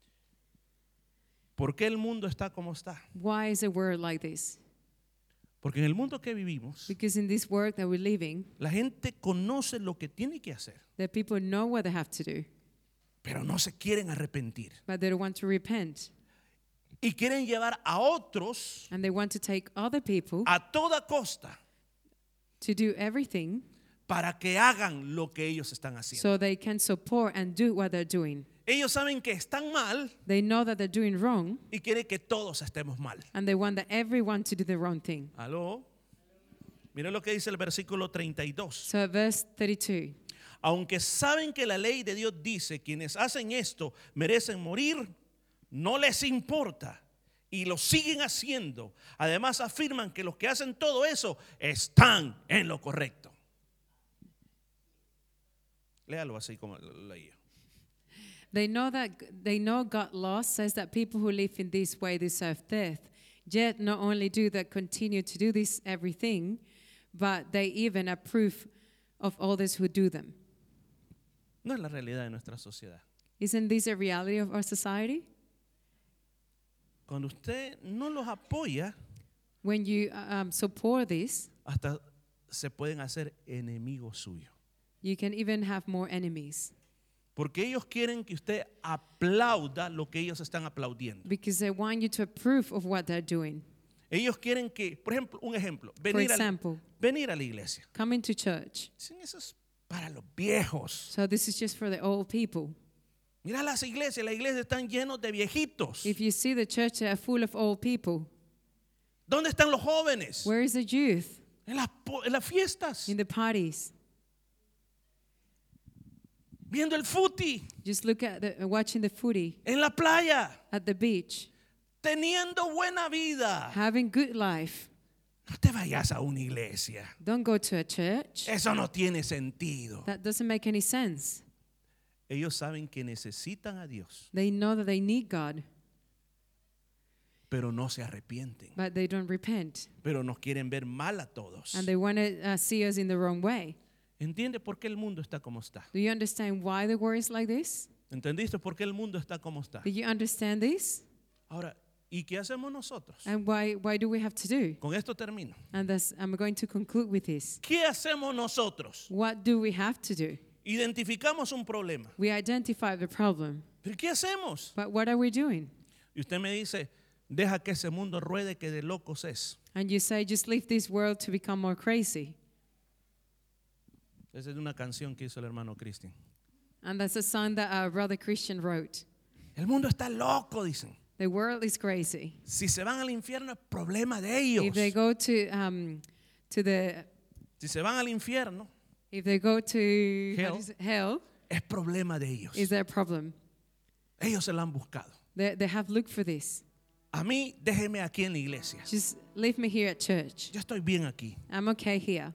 ¿Por qué el mundo está como está? why is the world like this? Porque en el mundo que vivimos, Because in this world that we're living, la gente conoce lo que tiene que hacer, the people know what they have to do, pero no se quieren arrepentir. but they don't want to repent. Y quieren llevar a otros And they want to take other people a toda costa to do everything para que hagan lo que ellos están haciendo. so they can support and do what they're doing. Ellos saben que están mal They know that they're doing wrong, y quieren que todos estemos mal. and they want that everyone to do the wrong thing. ¿Aló? Miren lo que dice el versículo 32. So verse 32. Aunque saben que la ley de Dios dice, quienes hacen esto merecen morir, no les importa y lo siguen haciendo. Además afirman que los que hacen todo eso están en lo correcto. Léalo así como lo leía. They know God's law says that people who live in this way deserve death. Yet not only do they continue to do this everything, but they even approve of others who do them. No es la realidad de nuestra sociedad. Isn't this a reality of our society? Cuando usted no los apoya, When you support this, hasta se pueden hacer enemigos suyos. you can even have more enemies Porque ellos quieren que usted aplauda lo que ellos están aplaudiendo. because they want you to approve of what they're doing. Ellos quieren que, por ejemplo, un ejemplo, For example, venir a la iglesia. coming to church. Dicen, eso es para los viejos. So this is just for the old people. Mira las iglesias están llenas de viejitos. If you see the church, they are full of old people. ¿Dónde están los jóvenes? Where is the youth? En las fiestas, In the parties. viendo el footy, Just look at watching the footy en la playa, at the beach, teniendo buena vida. having good life. No te vayas a una iglesia. Don't go to a church. Eso no tiene sentido. That doesn't make any sense. Ellos saben que necesitan a Dios. They know that they need God. pero no se arrepienten. but they don't repent. Pero nos quieren ver mal a todos. And they want to see us in the wrong way. ¿Entiende por qué el mundo está como está? Do you understand why the world is like this? ¿Entendiste por qué el mundo está como está? Do you understand this? Ahora, ¿y qué hacemos nosotros? And why do we have to do? Con esto termino. And I'm going to conclude with this. ¿Qué hacemos nosotros? What do we have to do? Identificamos un problema. We identify the problem, ¿Pero qué hacemos? but what are we doing? Y usted me dice, deja que ese mundo ruede, que de locos es. And you say, just leave this world to become more crazy. Esa es una canción que hizo el hermano Cristian. And that's a song that our brother Christian wrote. El mundo está loco, dicen. The world is crazy. Si se van al infierno es problema de ellos. If they go to the Si se van al infierno if they go to Hell. hell, es problema de ellos. is their problem. Ellos se la han buscado. They have looked for this. A mí, déjeme aquí en la iglesia. Just leave me here at church. Yo estoy bien aquí. I'm okay here.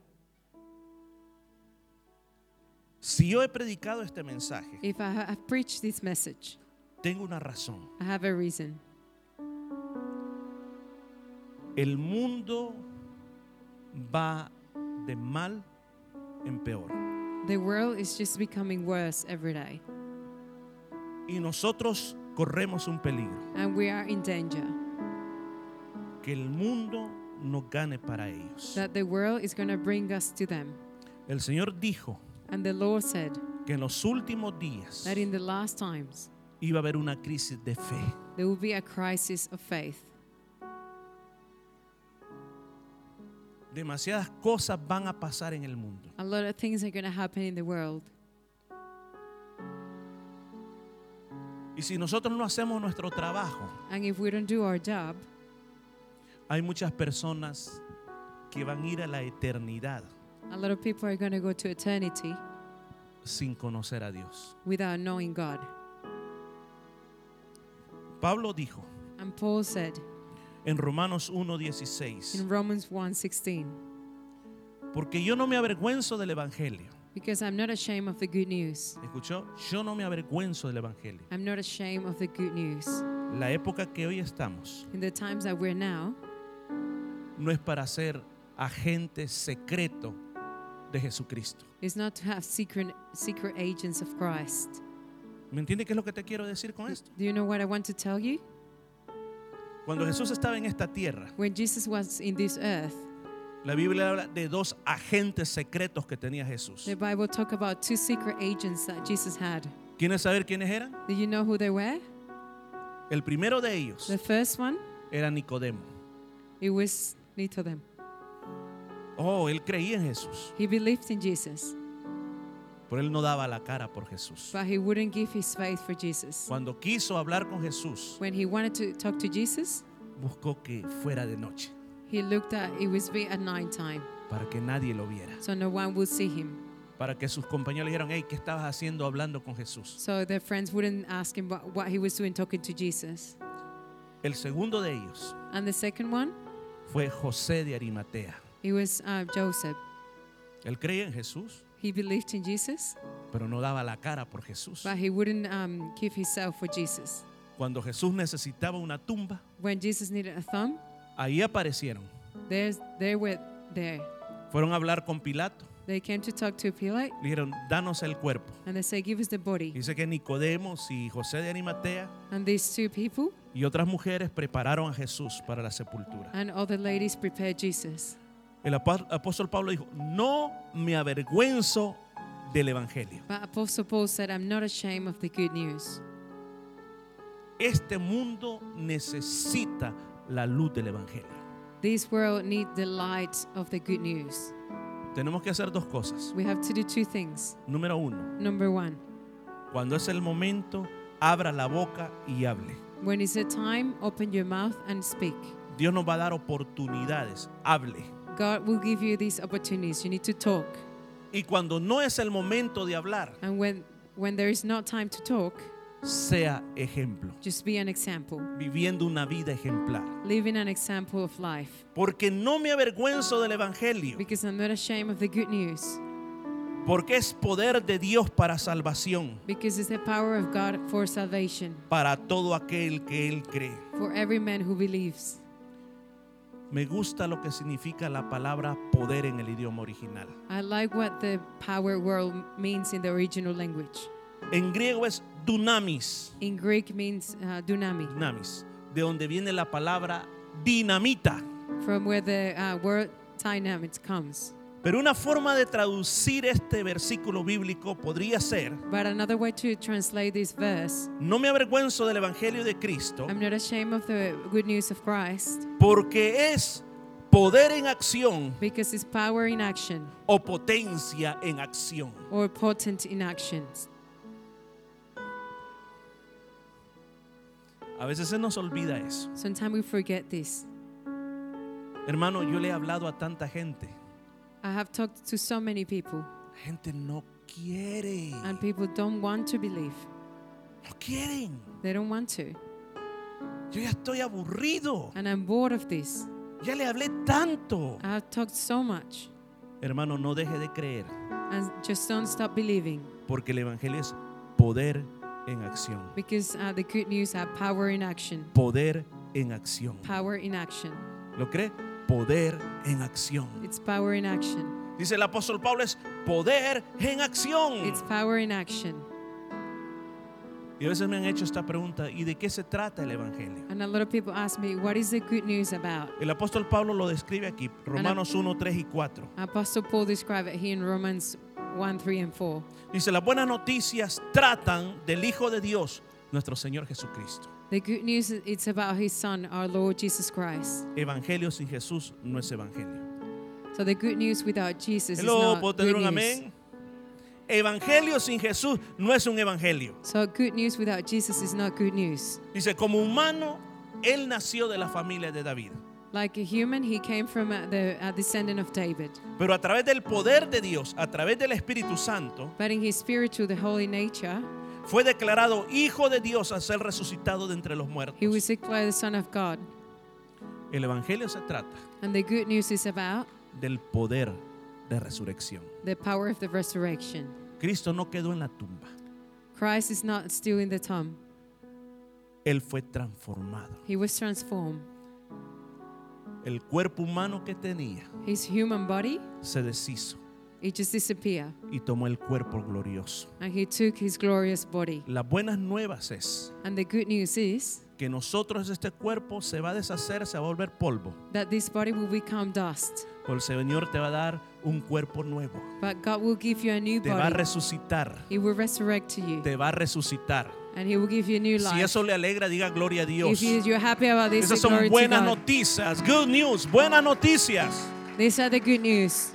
Si yo he predicado este mensaje, If I have preached this message, tengo una razón. I have a reason. El mundo va de mal en peor. The world is just becoming worse every day. Y nosotros corremos un peligro. And we are in danger Que el mundo nos gane para ellos. that the world is going to bring us to them. El Señor dijo And the Lord said que en los últimos días that in the last times, iba a haber una crisis de fe. there will be a crisis of faith. Demasiadas cosas van a pasar en el mundo. A lot of things are going to happen in the world. Y si nosotros no hacemos nuestro trabajo, And if we don't do our job, hay muchas personas que van a ir a la eternidad a lot of people are going to go to eternity sin conocer a Dios. without knowing God. Pablo dijo And Paul said en Romanos 1:16, in Romans 1:16, porque yo no me avergüenzo del evangelio. because I'm not ashamed of the good news. ¿Escuchó? Yo no me avergüenzo del evangelio. I'm not ashamed of the good news. La época que hoy estamos In the times that we're now, no es para ser agente secreto de Jesucristo. is not to have secret agents of Christ. ¿Me entiende qué es lo que te quiero decir con esto? Do you know what I want to tell you? Cuando Jesús estaba en esta tierra, When Jesus was in this earth, la Biblia habla de dos agentes secretos que tenía Jesús. the Bible talk about two secret agents that Jesus had. ¿Quieres saber quiénes eran? Do you know who they were? El primero de ellos The first one, era Nicodemo. it was Nicodem. Oh, él creía en Jesús, He believed in Jesus, pero él no daba la cara por Jesús. but he wouldn't give his faith for Jesus. Cuando quiso hablar con Jesús, When he wanted to talk to Jesus, buscó que fuera de noche he looked at it was at night time, para que nadie lo viera, so no one would see him. para que sus compañeros le dijeran, hey, ¿qué estabas haciendo hablando con Jesús? So their friends wouldn't ask him what he was doing talking to Jesus. El segundo de ellos And the second one, fue José de Arimatea. it was Joseph. Él creía en Jesús, He believed in Jesus, pero no daba la cara por Jesús. but he wouldn't give himself for Jesus. Cuando Jesús necesitaba una tumba, When Jesus needed a thumb, ahí aparecieron. they were there. Fueron a hablar con Pilato. They came to talk to Pilate, Le dijeron, danos el cuerpo. and they said, give us the body. Dice que Nicodemos y José de Arimatea And these two people y otras mujeres prepararon a Jesús para la sepultura. and other ladies prepared Jesus. El apóstol Pablo dijo, no me avergüenzo del evangelio. But Apostle Paul said, I'm not ashamed of the good news. Este mundo necesita la luz del evangelio. This world needs the light of the good news. Tenemos que hacer dos cosas. We have to do two things. Número uno, Number one, cuando es el momento, abra la boca y hable. when it's a time, open your mouth and speak. Dios nos va a dar oportunidades, hable. God will give you these opportunities. You need to talk. Y cuando no es el momento de hablar, And when there is not time to talk, sea ejemplo, just be an example. viviendo una vida ejemplar. Living an example of life. Porque no me avergüenzo del evangelio. Because I'm not ashamed of the good news. Porque es poder de Dios para salvación, Because it's the power of God for salvation para todo aquel que Él cree. for every man who believes. Me gusta lo que significa la palabra poder en el idioma original. I like what the power word means in the original language. En griego es dunamis, In Greek means dunami, dunamis, de donde viene la palabra dinamita. from where the word dynamite comes. Pero una forma de traducir este versículo bíblico podría ser: But another way to translate this verse, no me avergüenzo del evangelio de Cristo, I'm not ashamed of the good news of Christ, porque es poder en acción because it's power in action o potencia en acción. or potent in actions. A veces se nos olvida eso. Sometimes we forget this. Hermano, yo le he hablado a tanta gente. I have talked to so many people, La gente no quiere. and people don't want to believe. No quieren. They don't want to. Yo ya estoy aburrido. And I'm bored of this. Ya le hablé tanto. I have talked so much. Hermano, no deje de creer, And just don't stop believing, porque el evangelio es poder en acción. because the good news have power in action. Poder en acción. Power in action. ¿Lo cree? Poder en acción. It's power in action. Dice el apóstol Pablo, es poder en acción. It's power in action. Y a veces me han hecho esta pregunta: ¿y de qué se trata el evangelio? And a lot of people ask me, what is the good news about? El apóstol Pablo lo describe aquí, Romanos 1, 3 y 4. Apostle Paul described it here in Romans 1, 3, and 4. Dice: las buenas noticias tratan del Hijo de Dios, nuestro Señor Jesucristo. The good news, it's about his son, our Lord Jesus Christ. Evangelio sin Jesús no es evangelio. So the good news without Jesus is Hello, not ¿puedo good tener un news. amén? Evangelio sin Jesús no es un evangelio. So good news without Jesus is not good news. Dice: como humano, Él nació de la familia de David. Like a human, he came from the descendant of David. Pero a través del poder de Dios, a través del Espíritu Santo, But in his spiritual, the holy nature, fue declarado Hijo de Dios al ser resucitado de entre los muertos. he was declared the Son of God. El evangelio se trata And the good news is about del poder de resurrección. the power of the resurrection. Cristo no quedó en la tumba. Christ is not still in the tomb. Él fue transformado. He was transformed. El cuerpo humano que tenía His human body, se deshizo it just disappeared. y tomó el cuerpo glorioso. And he took his glorious body. Las buenas nuevas es And the good news is que nosotros, este cuerpo se va a deshacer, se va a volver polvo. that this body will become dust. Pero el Señor te va a dar un cuerpo nuevo. But God will give you a new Te va a body. resucitar. He will resurrect to you. Te va a resucitar. And he will give you a new Si life. eso le alegra, diga gloria a Dios. If you're happy about this, Esas glory son to buenas God. noticias. Good news, buenas noticias. These are the good news.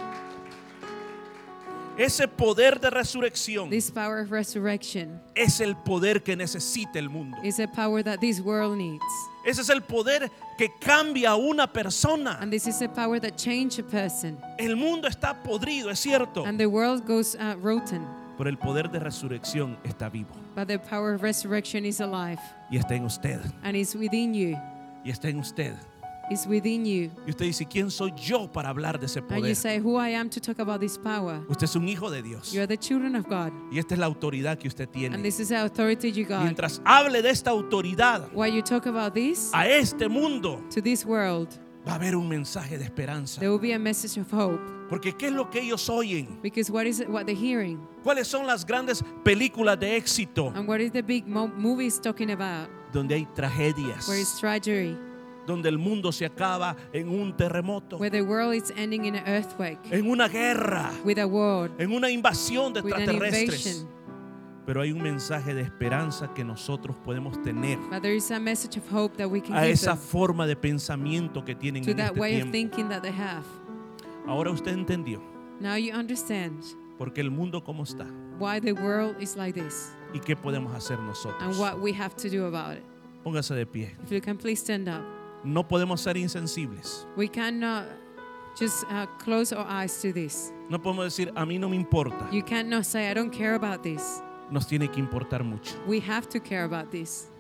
Ese poder de resurrección This power of resurrection es el poder que necesita el mundo. is a power that this world needs. Ese es el poder que cambia a una persona. And this is a power that changes a person. El mundo está podrido, es cierto, And the world goes rotten. pero el poder de resurrección está vivo But the power of resurrection is alive. y está en usted. And it's within you. Y está en usted. It's within you. Y usted dice: ¿quién soy yo para hablar de ese And you poder? say, who I am to talk about this power. Usted es un hijo de Dios. You are the children of God. Y esta es la autoridad que usted And tiene. this is the authority you got. Mientras hable de esta autoridad While you talk about this, a este mundo, to this world, va a haber un mensaje de esperanza. there will be a message of hope. Porque ¿qué es lo que ellos oyen? Because what is it, what they're hearing? ¿Cuáles son las grandes películas de éxito? And what is the big movies talking about? Donde hay tragedias, Where is tragedy? donde el mundo se acaba en un terremoto, Where the world is ending in an earthquake, en una guerra, with a war, en una invasión de with an extraterrestres. invasion. Pero hay un mensaje de esperanza que nosotros podemos tener But there is a message of hope that we can a give esa them, forma de pensamiento que tienen to en that este way of tiempo. thinking that they have. Ahora usted entendió Now you understand porque el mundo como está why the world is like this y qué podemos hacer and nosotros. what we have to do about it. Póngase de pie. If you can please stand up. No podemos ser insensibles. We cannot just close our eyes to this. No podemos decir: a mí no me importa. You cannot say, I don't care about this. Nos tiene que importar mucho. We have to care about this.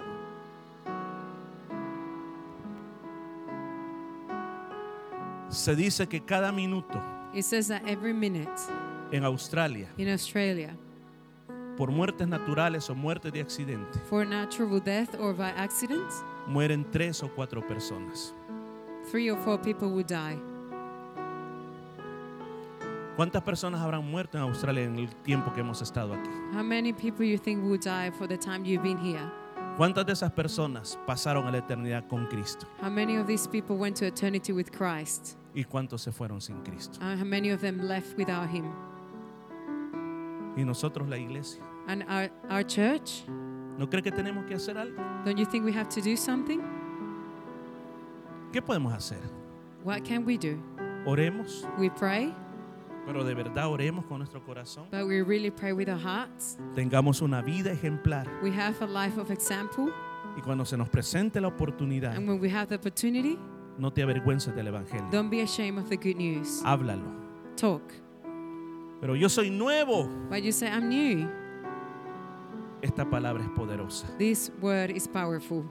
Se dice que cada minuto It says that every minute En Australia, in Australia, por muertes naturales o muertes de accidente, for natural death or by accident, mueren 3 o 4 personas. 3 or 4 people would die. ¿Cuántas personas habrán muerto en Australia en el tiempo que hemos estado aquí? How many people you think would die for the time you've been here? ¿Cuántas de esas personas pasaron a la eternidad con Cristo? How many of these people went to eternity with Christ? ¿Y cuántos se fueron sin Cristo? How many of them left without Him? Y nosotros, la iglesia, And our church, ¿no cree que tenemos que hacer algo? don't you think we have to do something? ¿Qué podemos hacer? What can we do? Oremos, We pray, pero de verdad oremos con nuestro corazón. but we really pray with our hearts. Tengamos una vida ejemplar. We have a life of example, Y cuando se nos presente la oportunidad, and when we have the opportunity, no te avergüences del Evangelio. don't be ashamed of the good news. Háblalo. Talk. Pero yo soy nuevo. But you say, I'm new. Esta palabra es poderosa. This word is powerful.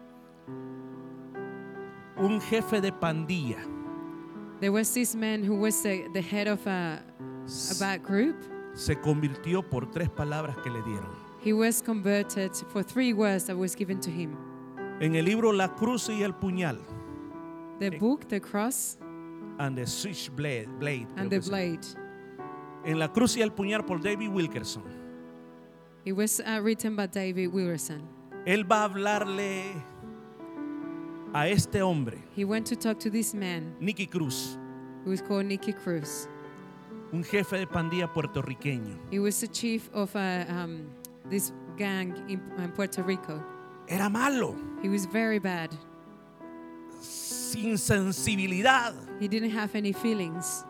Un jefe de pandilla There was this man who was the head of a bad group. se convirtió por 3 palabras que le dieron. He was converted for 3 words that was given to him. En el libro La Cruz y el Puñal, The book, the cross, and the Switchblade, and creo the que sí. blade. En La Cruz y el Puñal por David Wilkerson. It was written by David Wilkerson. Él va a hablarle a este hombre, He went to talk to this man Nicky Cruz, who was called Nicky Cruz. un jefe de pandilla puertorriqueño. He was the chief of this gang in Puerto Rico. Era malo, He was very bad. sin sensibilidad. He didn't have any feelings.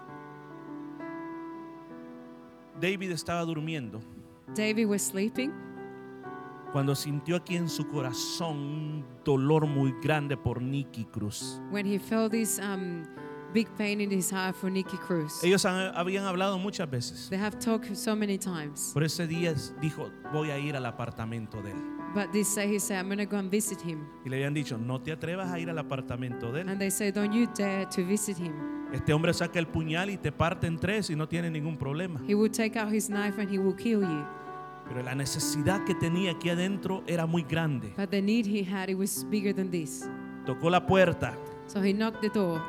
David estaba durmiendo David was sleeping cuando sintió aquí en su corazón un dolor muy grande por Nicky Cruz. when he felt this big pain in his heart for Nicky Cruz. Ellos habían hablado muchas veces. They have talked so many times. Por ese día dijo, voy a ir al apartamento de él. But he said, I'm going to go and visit him. Y le habían dicho, no te atrevas a ir al apartamento de él. And they say, don't you dare to visit him. Este hombre saca el puñal y te parte en 3 y no tiene ningún problema. He will take out his knife and he will kill you. Pero la necesidad que tenía aquí adentro era muy grande. But the need he had, it was bigger than this. Tocó la puerta. So he knocked the door.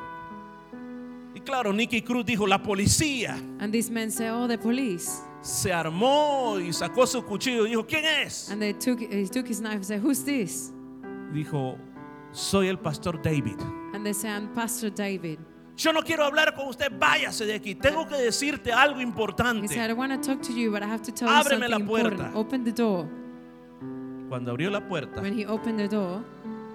Y claro, Nicky Cruz dijo, la policía. And this man said, oh, the police. Se armó y sacó su cuchillo y dijo, ¿quién es? And he took his knife and said, who's this? Dijo, soy el pastor David. And they said, I'm Pastor David. Yo no quiero hablar con usted, váyase de aquí. Tengo que decirte algo He importante. said, I want to talk to you, but I have to tell you Ábreme something la puerta. important. Open the door. Cuando abrió la puerta, When he opened the door,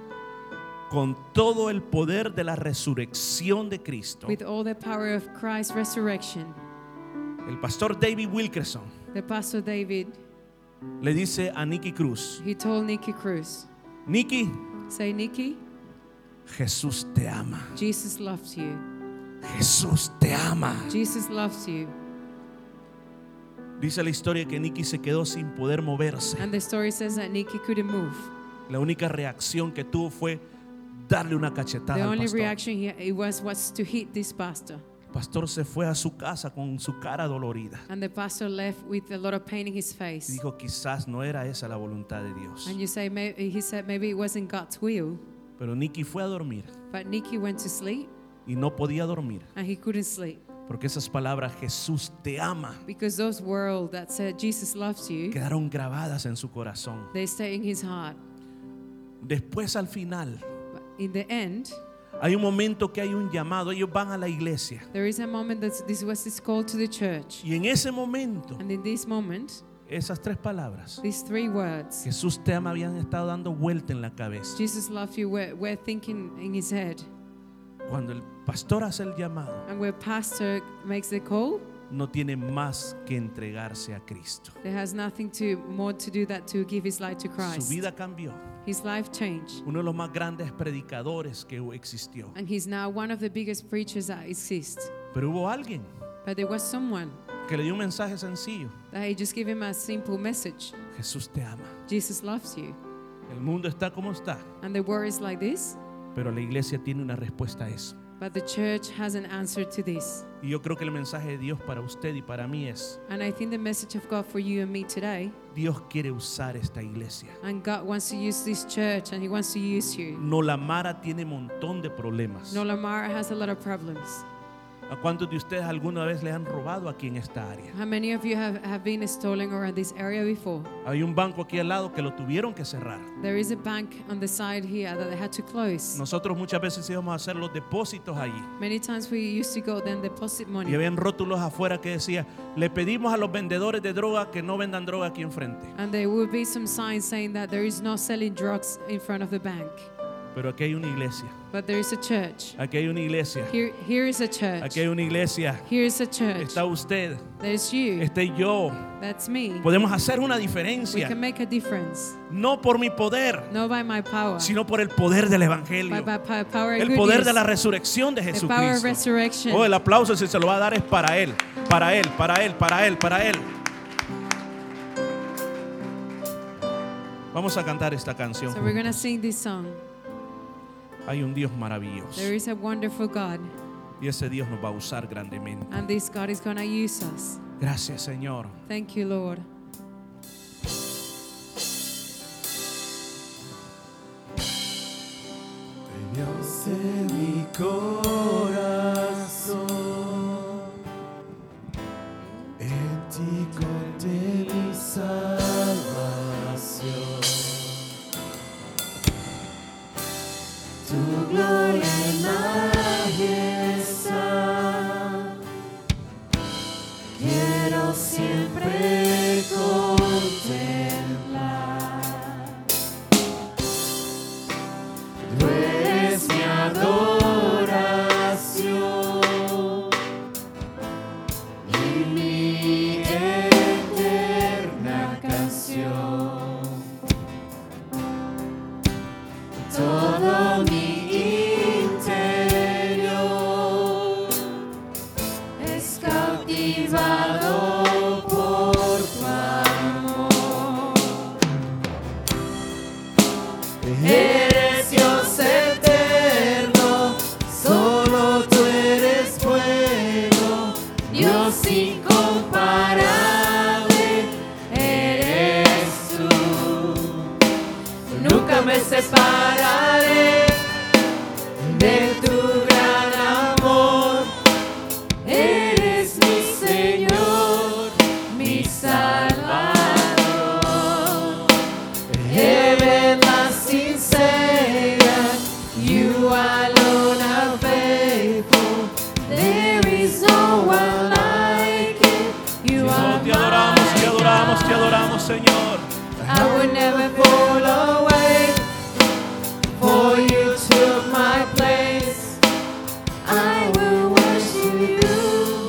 con todo el poder de la resurrección de Cristo, with all the power of Christ's resurrection, el pastor David Wilkerson the Pastor David, le dice a Nicky Cruz, he told Nicky Cruz, Nicky, say, Nicky, Jesús te ama. Jesus loves you. Jesús te ama. Jesus loves you. Dice la historia que Nicky se quedó sin poder moverse. And the story says that Nicky couldn't move. La única reacción que tuvo fue darle una cachetada The al only pastor. reaction he was to hit this pastor. El pastor se fue a su casa con su cara dolorida And the pastor left with a lot of pain in his y face. dijo, quizás no era esa la voluntad de Dios. And you say, he said maybe it wasn't God's will. Pero Nicky fue a dormir But Nicky went to sleep y no podía dormir and he couldn't sleep. porque esas palabras, Jesús te ama, Because those words that said Jesus loves you, quedaron grabadas en su corazón. they stay in his heart. Después, al final, But in the end, hay un momento que hay un llamado. Ellos van a la iglesia there is a moment that this was his call to the church. y en ese momento, And in this moment, esas 3 palabras, these 3 words, Jesús te ama, habían estado dando vuelta en la cabeza. Jesus loves you, were thinking in his head. Cuando el pastor hace el llamado, And where pastor makes the call, no tiene más que entregarse a Cristo. there has nothing more to do that to give his life to Su Christ. vida cambió. His life changed. Uno de los más grandes predicadores que existió. And he's now one of the biggest preachers that exist. Pero hubo alguien But there was someone que le dio un mensaje sencillo. that he just gave him a simple message. Jesús te ama. Jesus loves you. El mundo está como está, And the word is like this, pero la iglesia tiene una respuesta a eso. But the church has an answer to this. Y yo creo que el mensaje de Dios para usted y para mí es: And I think the message of God for you and me today, Dios quiere usar esta iglesia. and God wants to use this church and He wants to use you. Nolamara tiene un montón de problemas. Nolamara has a lot of problems. ¿A cuántos de ustedes alguna vez les han robado aquí en esta área? How many of you have been stolen around this area before? Hay un banco aquí al lado que lo tuvieron que cerrar. There is a bank on the side here that they had to close. Nosotros muchas veces íbamos a hacer los depósitos allí. Many times we used to go then deposit Y money. habían rótulos afuera que decía: le pedimos a los vendedores de droga que no vendan droga aquí enfrente. And there would be some signs saying that there is no selling drugs in front of the bank. Pero aquí hay una iglesia. But there is a church. Aquí hay una iglesia. Here is a church. Aquí hay una iglesia. Here is a church. Está usted. There's you. Este yo. That's me. Podemos hacer una We diferencia. can make a difference. No por mi poder, Not by my power, sino por el poder del but evangelio. by power and El good poder news. de la resurrección de The power of Jesucristo. resurrection. Oh, el aplauso, si se lo va a dar, es para él. Para él, para él, para él, para él. Vamos a cantar esta canción. So we're going to sing this song. Hay un Dios maravilloso. There is a wonderful God, Y ese Dios nos va a usar grandemente. and this God is going to use us. Gracias, Señor. Thank you, Lord. Dios en mi corazón, en ti conté mi salvación. Tu gloria y majestad quiero siempre contemplar. Tú eres mi adoración y mi eterna canción. Todo mi interior es cautivado por tu amor. Eres Dios eterno, solo tú eres bueno, Dios incomparable eres tú. Nunca me separaré de tu gran amor. Eres mi Señor, mi Salvador. Everlasting Savior, you alone are faithful. There is no one like you. You Oh, are te adoramos, te adoramos, te adoramos, Señor. I would never fall away, for you took my place. I will worship you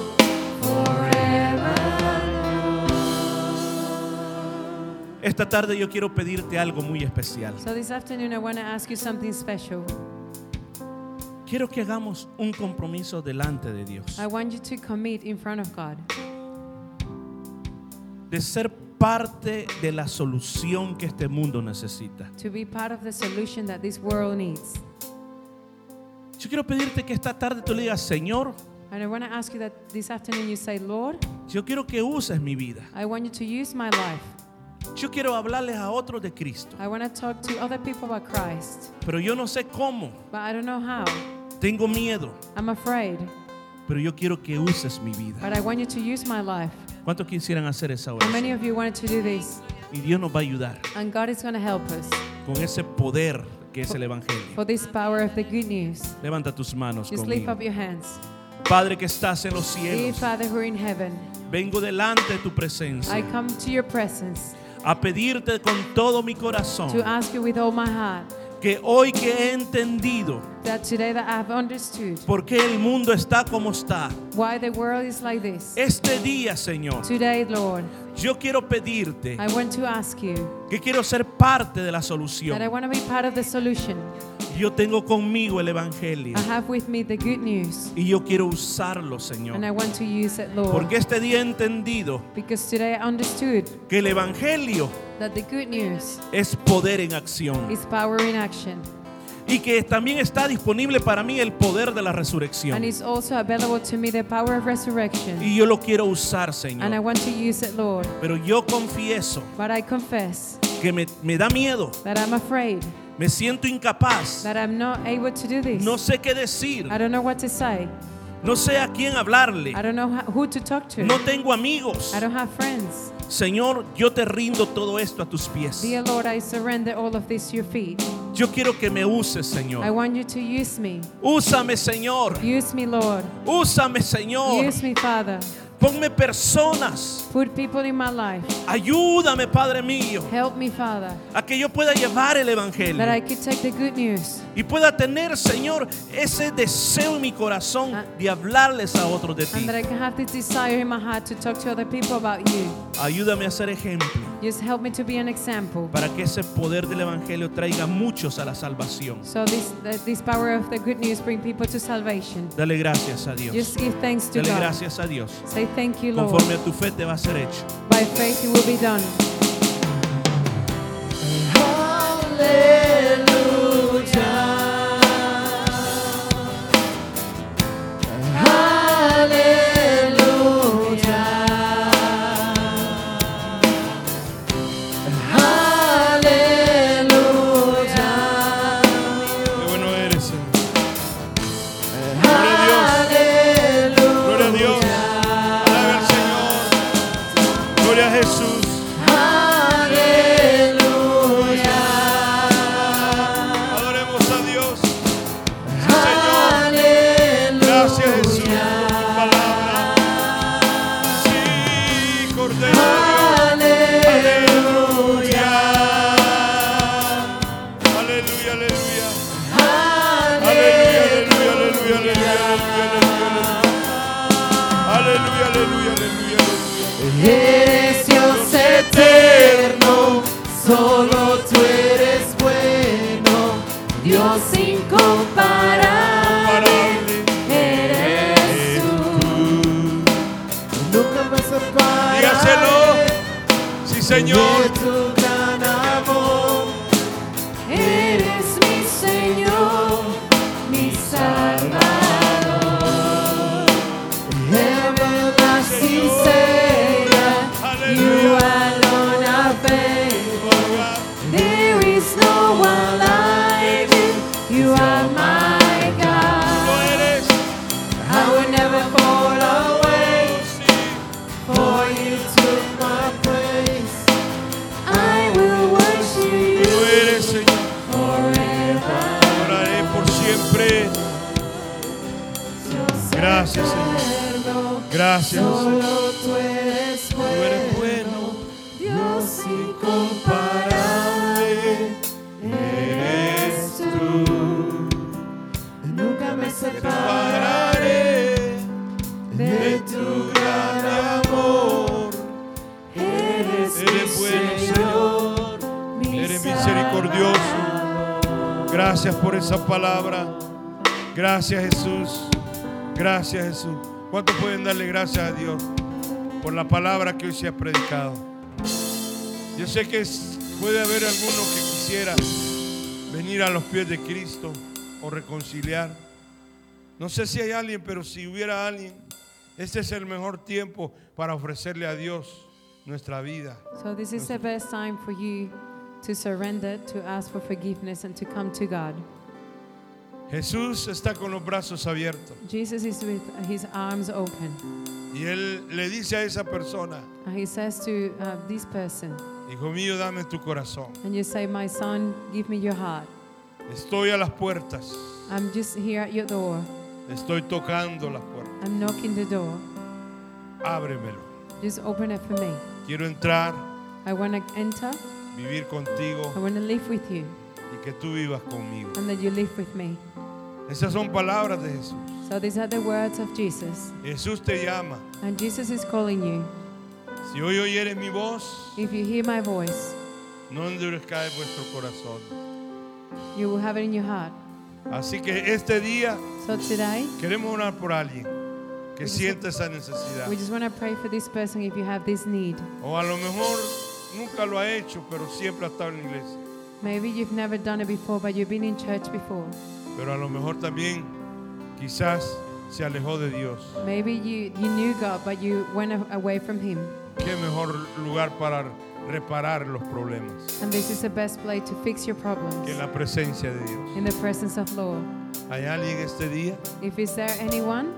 forever. Esta tarde yo quiero pedirte algo muy especial. So this afternoon, I want to ask you something special. Quiero que hagamos un compromiso delante de Dios, I want you to commit in front of God de ser parte de la solución que este mundo necesita. to be part of the solution that this world needs. Yo quiero pedirte que esta tarde tú le digas: Señor, And I want to ask you that this afternoon you say, Lord, yo quiero que uses mi vida. I want you to use my life. Yo quiero hablarles a otros de Cristo, I want to talk to other people about Christ, pero yo no sé cómo. but I don't know how. Tengo miedo, I'm afraid, pero yo quiero que uses mi vida. but I want you to use my life. ¿Cuántos quisieran hacer esa How many oración? of you wanted to do this? Y Dios nos va a ayudar And God is going to help us con ese poder que es el Evangelio. for this power of the good news. Levanta tus manos Just lift conmigo. up your hands. Padre que estás en los Dear cielos, Father who are in heaven, vengo delante de tu I presencia come to your presence a pedirte con todo mi corazón to ask you with all my heart que hoy que he entendido that today that I have understood por qué el mundo está como está, why the world is like this. este día, Señor, Today, Lord, yo quiero pedirte I want to ask you que quiero ser parte de la that I solución. want to be part of the solution. Yo tengo conmigo el Evangelio I have with me the good news, y yo quiero usarlo, and Señor. I want to use it, Lord, Porque este día he entendido because today I understood que el Evangelio that the good news es poder en acción. is power in action. y que también está disponible para mí el poder de la And resurrección. it's also available to me the power of resurrection. Y yo lo quiero usar, And I Señor. want to use it, Lord. Pero yo confieso But I confess que me da miedo, that I'm afraid, me siento incapaz, that I'm not able to do this. no sé qué decir, I don't know what to say. no sé a quién hablarle, I don't know who to talk to. no tengo amigos. I don't have friends. Señor, yo te rindo todo esto a tus pies. Dear Lord, I surrender all of this to your feet. Yo quiero que me uses, I Señor. want you to use me. Úsame, Señor. Use me, Lord. Úsame, Señor. Use me, Father. Ponme personas. Put people in my life. Ayúdame, Padre mío, Help me, Father, a que yo pueda llevar el that I evangelio could take the good news y pueda tener, Señor, ese deseo en mi corazón de hablarles a otros de ti. and that I can have this desire in my heart to talk to other people about you. Ayúdame a ser ejemplo Just help me to be an example. para que ese poder del evangelio traiga muchos a la salvación. So this power of the good news bring people to salvation. Dale gracias a Dios. Just give thanks to Dale God. gracias a Dios. Say thank you, Lord. Conforme a tu fe te va a ser hecho. By faith it will be done. Qué bueno eres, Señor. Gloria a Dios. Gloria a Dios. Alabe al Señor. Gloria a Jesús. Adoremos a Dios. Sí, Señor. Gracias, Jesús, por tu palabra. Sí, Cordero de Dios. Aleluya. Aleluya, aleluya. Aleluya, aleluya, aleluya, aleluya, aleluya, aleluya, aleluya, aleluya, aleluya. Eres Dios eterno, solo tú eres bueno, Dios incomparable, eres tú. Nunca me separaré Dígaselo. Sí, de Señor. tu gran amor. Eres mi Señor, mi Salvador. Everlasting Savior, you alone are faithful. There is no one like you. You are my Tú God. eres. I will never fall away, for you took my place. I will worship Tú you eres, Señor. forever. Oraré por siempre. Gracias, Señor. Gracias, Señor. Solo tú eres Tú eres bueno. Dios incomparable, eres tú. Nunca me separaré de tu gran amor. Eres Eres bueno, Señor, mi Eres misericordioso. Gracias por esa palabra. Gracias, Jesús. Gracias, Jesús. ¿Cuántos pueden darle gracias a Dios por la palabra que hoy se ha predicado? Yo sé que puede haber alguno que quisiera venir a los pies de Cristo o reconciliar. No sé si hay alguien, pero si hubiera alguien, este es el mejor tiempo para ofrecerle a Dios nuestra vida. So this is the best time for you to surrender, to ask for forgiveness and to come to God. Jesús está con los brazos abiertos Jesus is with his arms open. y Él le dice a esa persona: And he says to this person, hijo mío, dame tu corazón. and you say, my son, give me your heart. Estoy a las puertas. I'm just here at your door. Estoy tocando las puertas. I'm knocking the door. Ábremelo. Just open it for me. Quiero entrar, I want to enter. vivir contigo I want to live with you y que tú vivas conmigo. and that you live with me. Esas son palabras de Jesús. So these are the words of Jesus. Jesús te llama. And Jesus is calling you. Si hoy oyeres mi voz, If you hear my voice, no endurezcáis vuestro corazón. you will have it in your heart. Así que este día So today, queremos orar por alguien que sienta esa necesidad. we just want to pray for this person if you have this need. O a lo mejor nunca lo ha hecho, pero siempre ha estado en la iglesia. Maybe you've never done it before, but you've been in church before. Pero a lo mejor también quizás se alejó de Dios. Maybe you knew God, but you went away from Him. Qué mejor lugar para reparar los problemas And this is the best place to fix your que problems, en la presencia de Dios. in the presence of Lord. ¿Hay alguien este día? If is there anyone,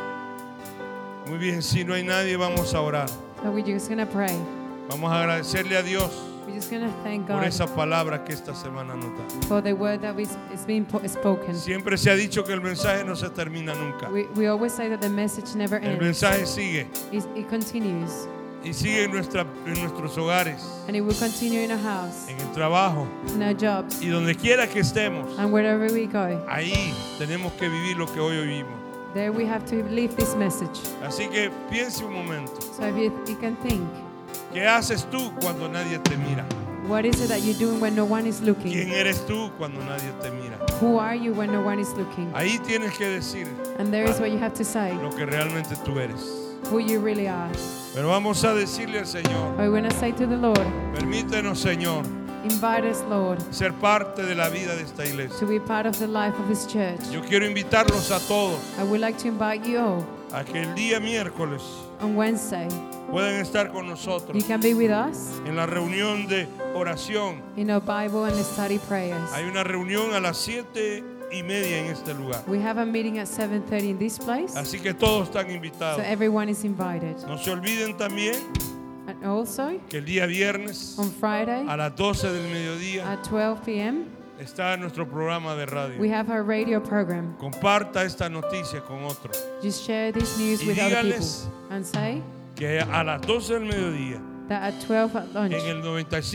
Muy bien, si no hay nadie, vamos a orar. so we're just going to pray. Vamos a agradecerle a Dios We're just going to thank por God esa palabra que esta semana nos da. for the word that is being spoken. Siempre se ha dicho que el mensaje no se termina nunca. We always say that the message never El ends. mensaje sigue It continues. y sigue en nuestros hogares, And it will continue in our house, en el trabajo in our jobs, y donde quiera que estemos. and wherever we go. Ahí tenemos que vivir lo que hoy oímos. There we have to live this message. Así que piense un momento. So if you can think, ¿Qué haces tú cuando nadie te mira? what is it that you're doing when no one is ¿Quién looking? eres tú cuando nadie te mira? Who are you when no one is looking? Ahí tienes que decir And there is what you have to say, lo que realmente tú eres. who you really are. Pero vamos a decirle al Señor, We're going to say to the Lord, permítenos, Señor, invite us, Lord, ser parte de la vida de esta iglesia. to be part of the life of His church. Yo quiero invitarlos a todos I would like to invite you all a que el día miércoles on Wednesday. puedan estar con You nosotros can be with us en la reunión de oración. in our Bible and study prayers. Hay una reunión a las 7:30 en este lugar. We have a meeting at 7:30 in this place, Así que todos están so invitados. everyone is invited. No se olviden también And also, que el día viernes on Friday a las 12 del mediodía at 12 p.m., está nuestro programa de we radio. have our radio program. Comparta esta noticia con otros. Just share this news Y with other people dígales and say que a las 12 del mediodía that at 12 at lunch en el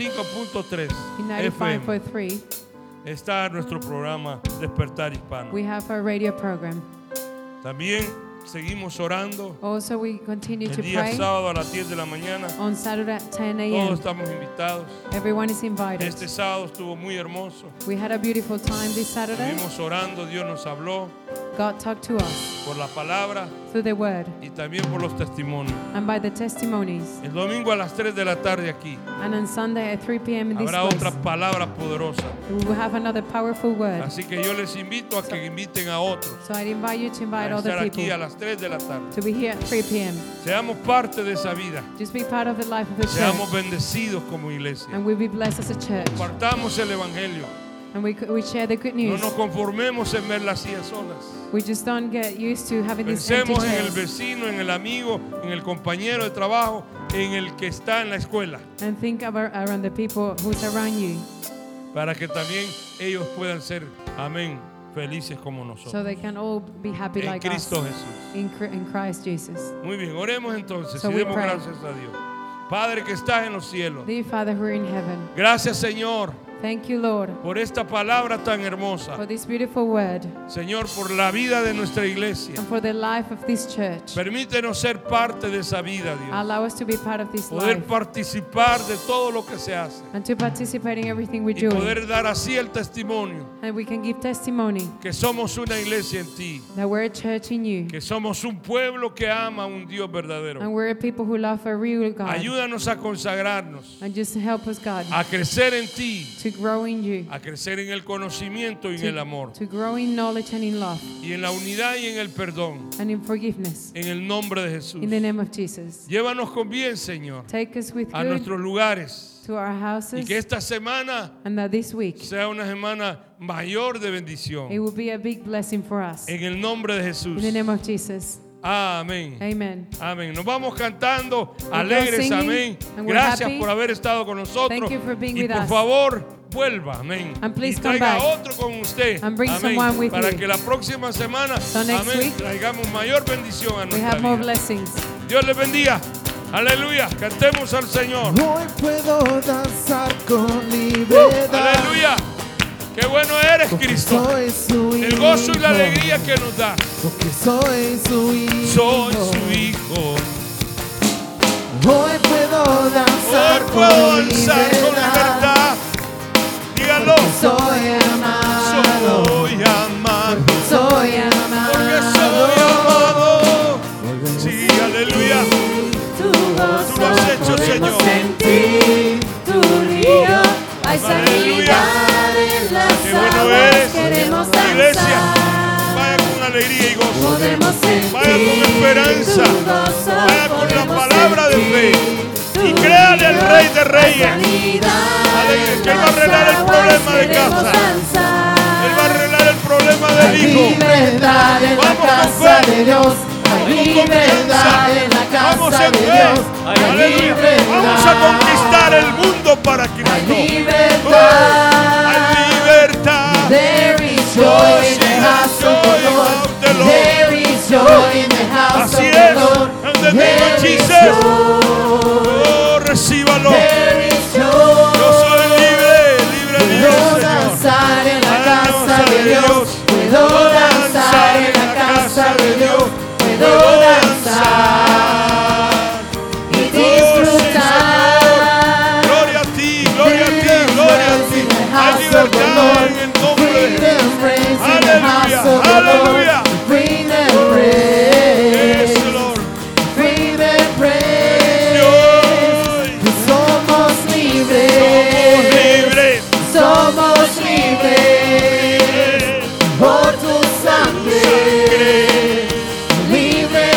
95.3 in FM 95.3 está nuestro programa Despertar Hispano. we have our radio program. También seguimos orando Also, we continue el to día pray sábado a las 10 de la mañana. on Saturday at 10 Todos a.m. estamos invitados. Everyone is invited. Este sábado estuvo muy hermoso. We had a beautiful time this Saturday. Estuvimos orando, Dios nos habló God talked to us por la palabra through the word y también por los testimonios. and by the testimonies. El domingo a las 3 de la tarde aquí And on Sunday at 3 p.m. in this habrá otra place, palabra poderosa. we will have another powerful word. Así que yo les invito a que inviten a otros So I invite you to invite a other estar aquí people a las 3 de la tarde. to be here at 3 p.m. Seamos parte de esa vida. Just be part of the life of the Seamos church, bendecidos como iglesia. and we'll be blessed as a church. Compartamos el evangelio. And we share the good No news. nos conformemos en ver las sillas solas. We just don't get used to having these empty Pensemos en el chairs vecino, en el amigo, en el compañero de trabajo, en el que está en la escuela, and think around the people who's around you, para que también ellos puedan ser, amén, felices como so nosotros. they can all be happy En like us Cristo Jesús. in Christ Jesus. Muy bien, oremos entonces So y we demos pray. gracias a Dios. Padre que estás en los cielos, Dear Father who are in heaven, gracias Señor thank you, Lord, por esta palabra tan hermosa. for this beautiful word Señor, por la vida de nuestra iglesia. and for the life of this church. Permítenos ser parte de esa vida, Dios. Allow us to be part of this Poder life participar de todo lo que se hace. and to participate in everything we're Y doing. poder dar así el testimonio And we can give testimony que somos una iglesia en ti. that we're a church in you Que somos un pueblo que ama a un Dios verdadero. and we're a people who love a real God. Ayúdanos a consagrarnos, And just help us, God, a crecer en ti, to grow in you, a crecer en el conocimiento y en el amor, to grow in knowledge and in love y en la unidad y en el perdón, and in forgiveness. en el nombre de Jesús. In the name of Jesus. Llévanos con bien, Señor, Take us with a good nuestros lugares, to our y houses, que esta semana and that this week sea una semana mayor de bendición. it will be a big blessing for us. En el nombre de Jesús. In the name of Jesus. Amén. Amen. Amén. Nos vamos cantando go alegres. singing, Amén. and we're Gracias happy. por haber estado con nosotros. Thank you for being Y with por us. favor, vuelva. Amén. And please y come traiga back. otro con usted. And bring Amén. someone with Para you. que la próxima semana, So next amén, week, traigamos mayor bendición a We nuestra have more vida. blessings. Dios les bendiga. Aleluya. Cantemos al Señor. Hoy puedo danzar con libertad. Aleluya. Qué bueno eres, Porque Cristo. soy su hijo. El gozo y la alegría que nos da. Porque soy su hijo. Soy su hijo. Hoy puedo danzar Hoy puedo con danzar con libertad. Dígalo. Soy amado. Soy amado. Soy amado. Porque soy amado. Sí, aleluya. Tu gozo Tú lo has hecho, podemos Señor. sentir. Tu río hay Aleluya. sanidad. lo eres. queremos Iglesia, danzar. vaya con alegría y gozo. Podemos Vaya con esperanza. Vaya con la palabra de fe. Y créale al Rey de Reyes. Aleluya, que Él va a arreglar el problema de casa. Él va a arreglar el problema del hijo. Libertad en la Vamos con casa fe. de Dios. Hay libertad en la Vamos casa en de fe. Dios. Hay Aleluya. libertad. Vamos a conquistar el mundo para Hay Cristo. libertad. Hay libertad. There is joy in the house of the Lord. There is joy in the house of Así the es. Lord. En el nombre de There is Jesus. joy. Oh, recíbalo. There is Yo joy. soy libre de Dios, Puedo Señor. danzar en la Alabanza casa de Dios. Puedo danzar en la casa de Dios. Puedo danzar y disfrutar. Gloria a ti, gloria a ti, gloria a ti. Hay libertad en el nombre de Freedom reigns in the house of the Aleluya. Lord. Freedom reigns. Yes, Lord. Freedom reigns. Dios. Somos Somos libres. libres. Somos libres por tu sangre. Libres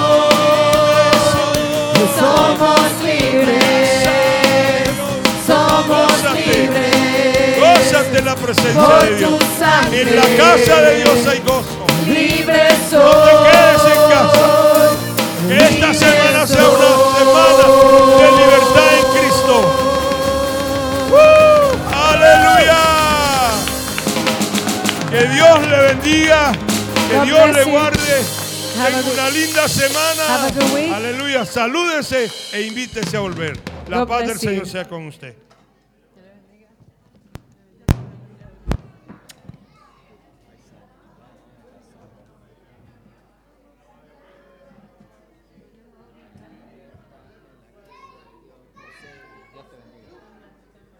somos. Somos libres. Somos libres. Gózate en la presencia Por de Dios. tu sangre. En la casa de Dios hay gozo. Libres No te quedes en casa. soy. Que esta semana sea una semana de libertad en Cristo. ¡Aleluya! Que Dios le bendiga, que God Dios le bless you. guarde. Have a Tenga good- una linda semana. Have a good week. Aleluya. Salúdense e invítese a volver. La God paz del bless you. Señor sea con usted.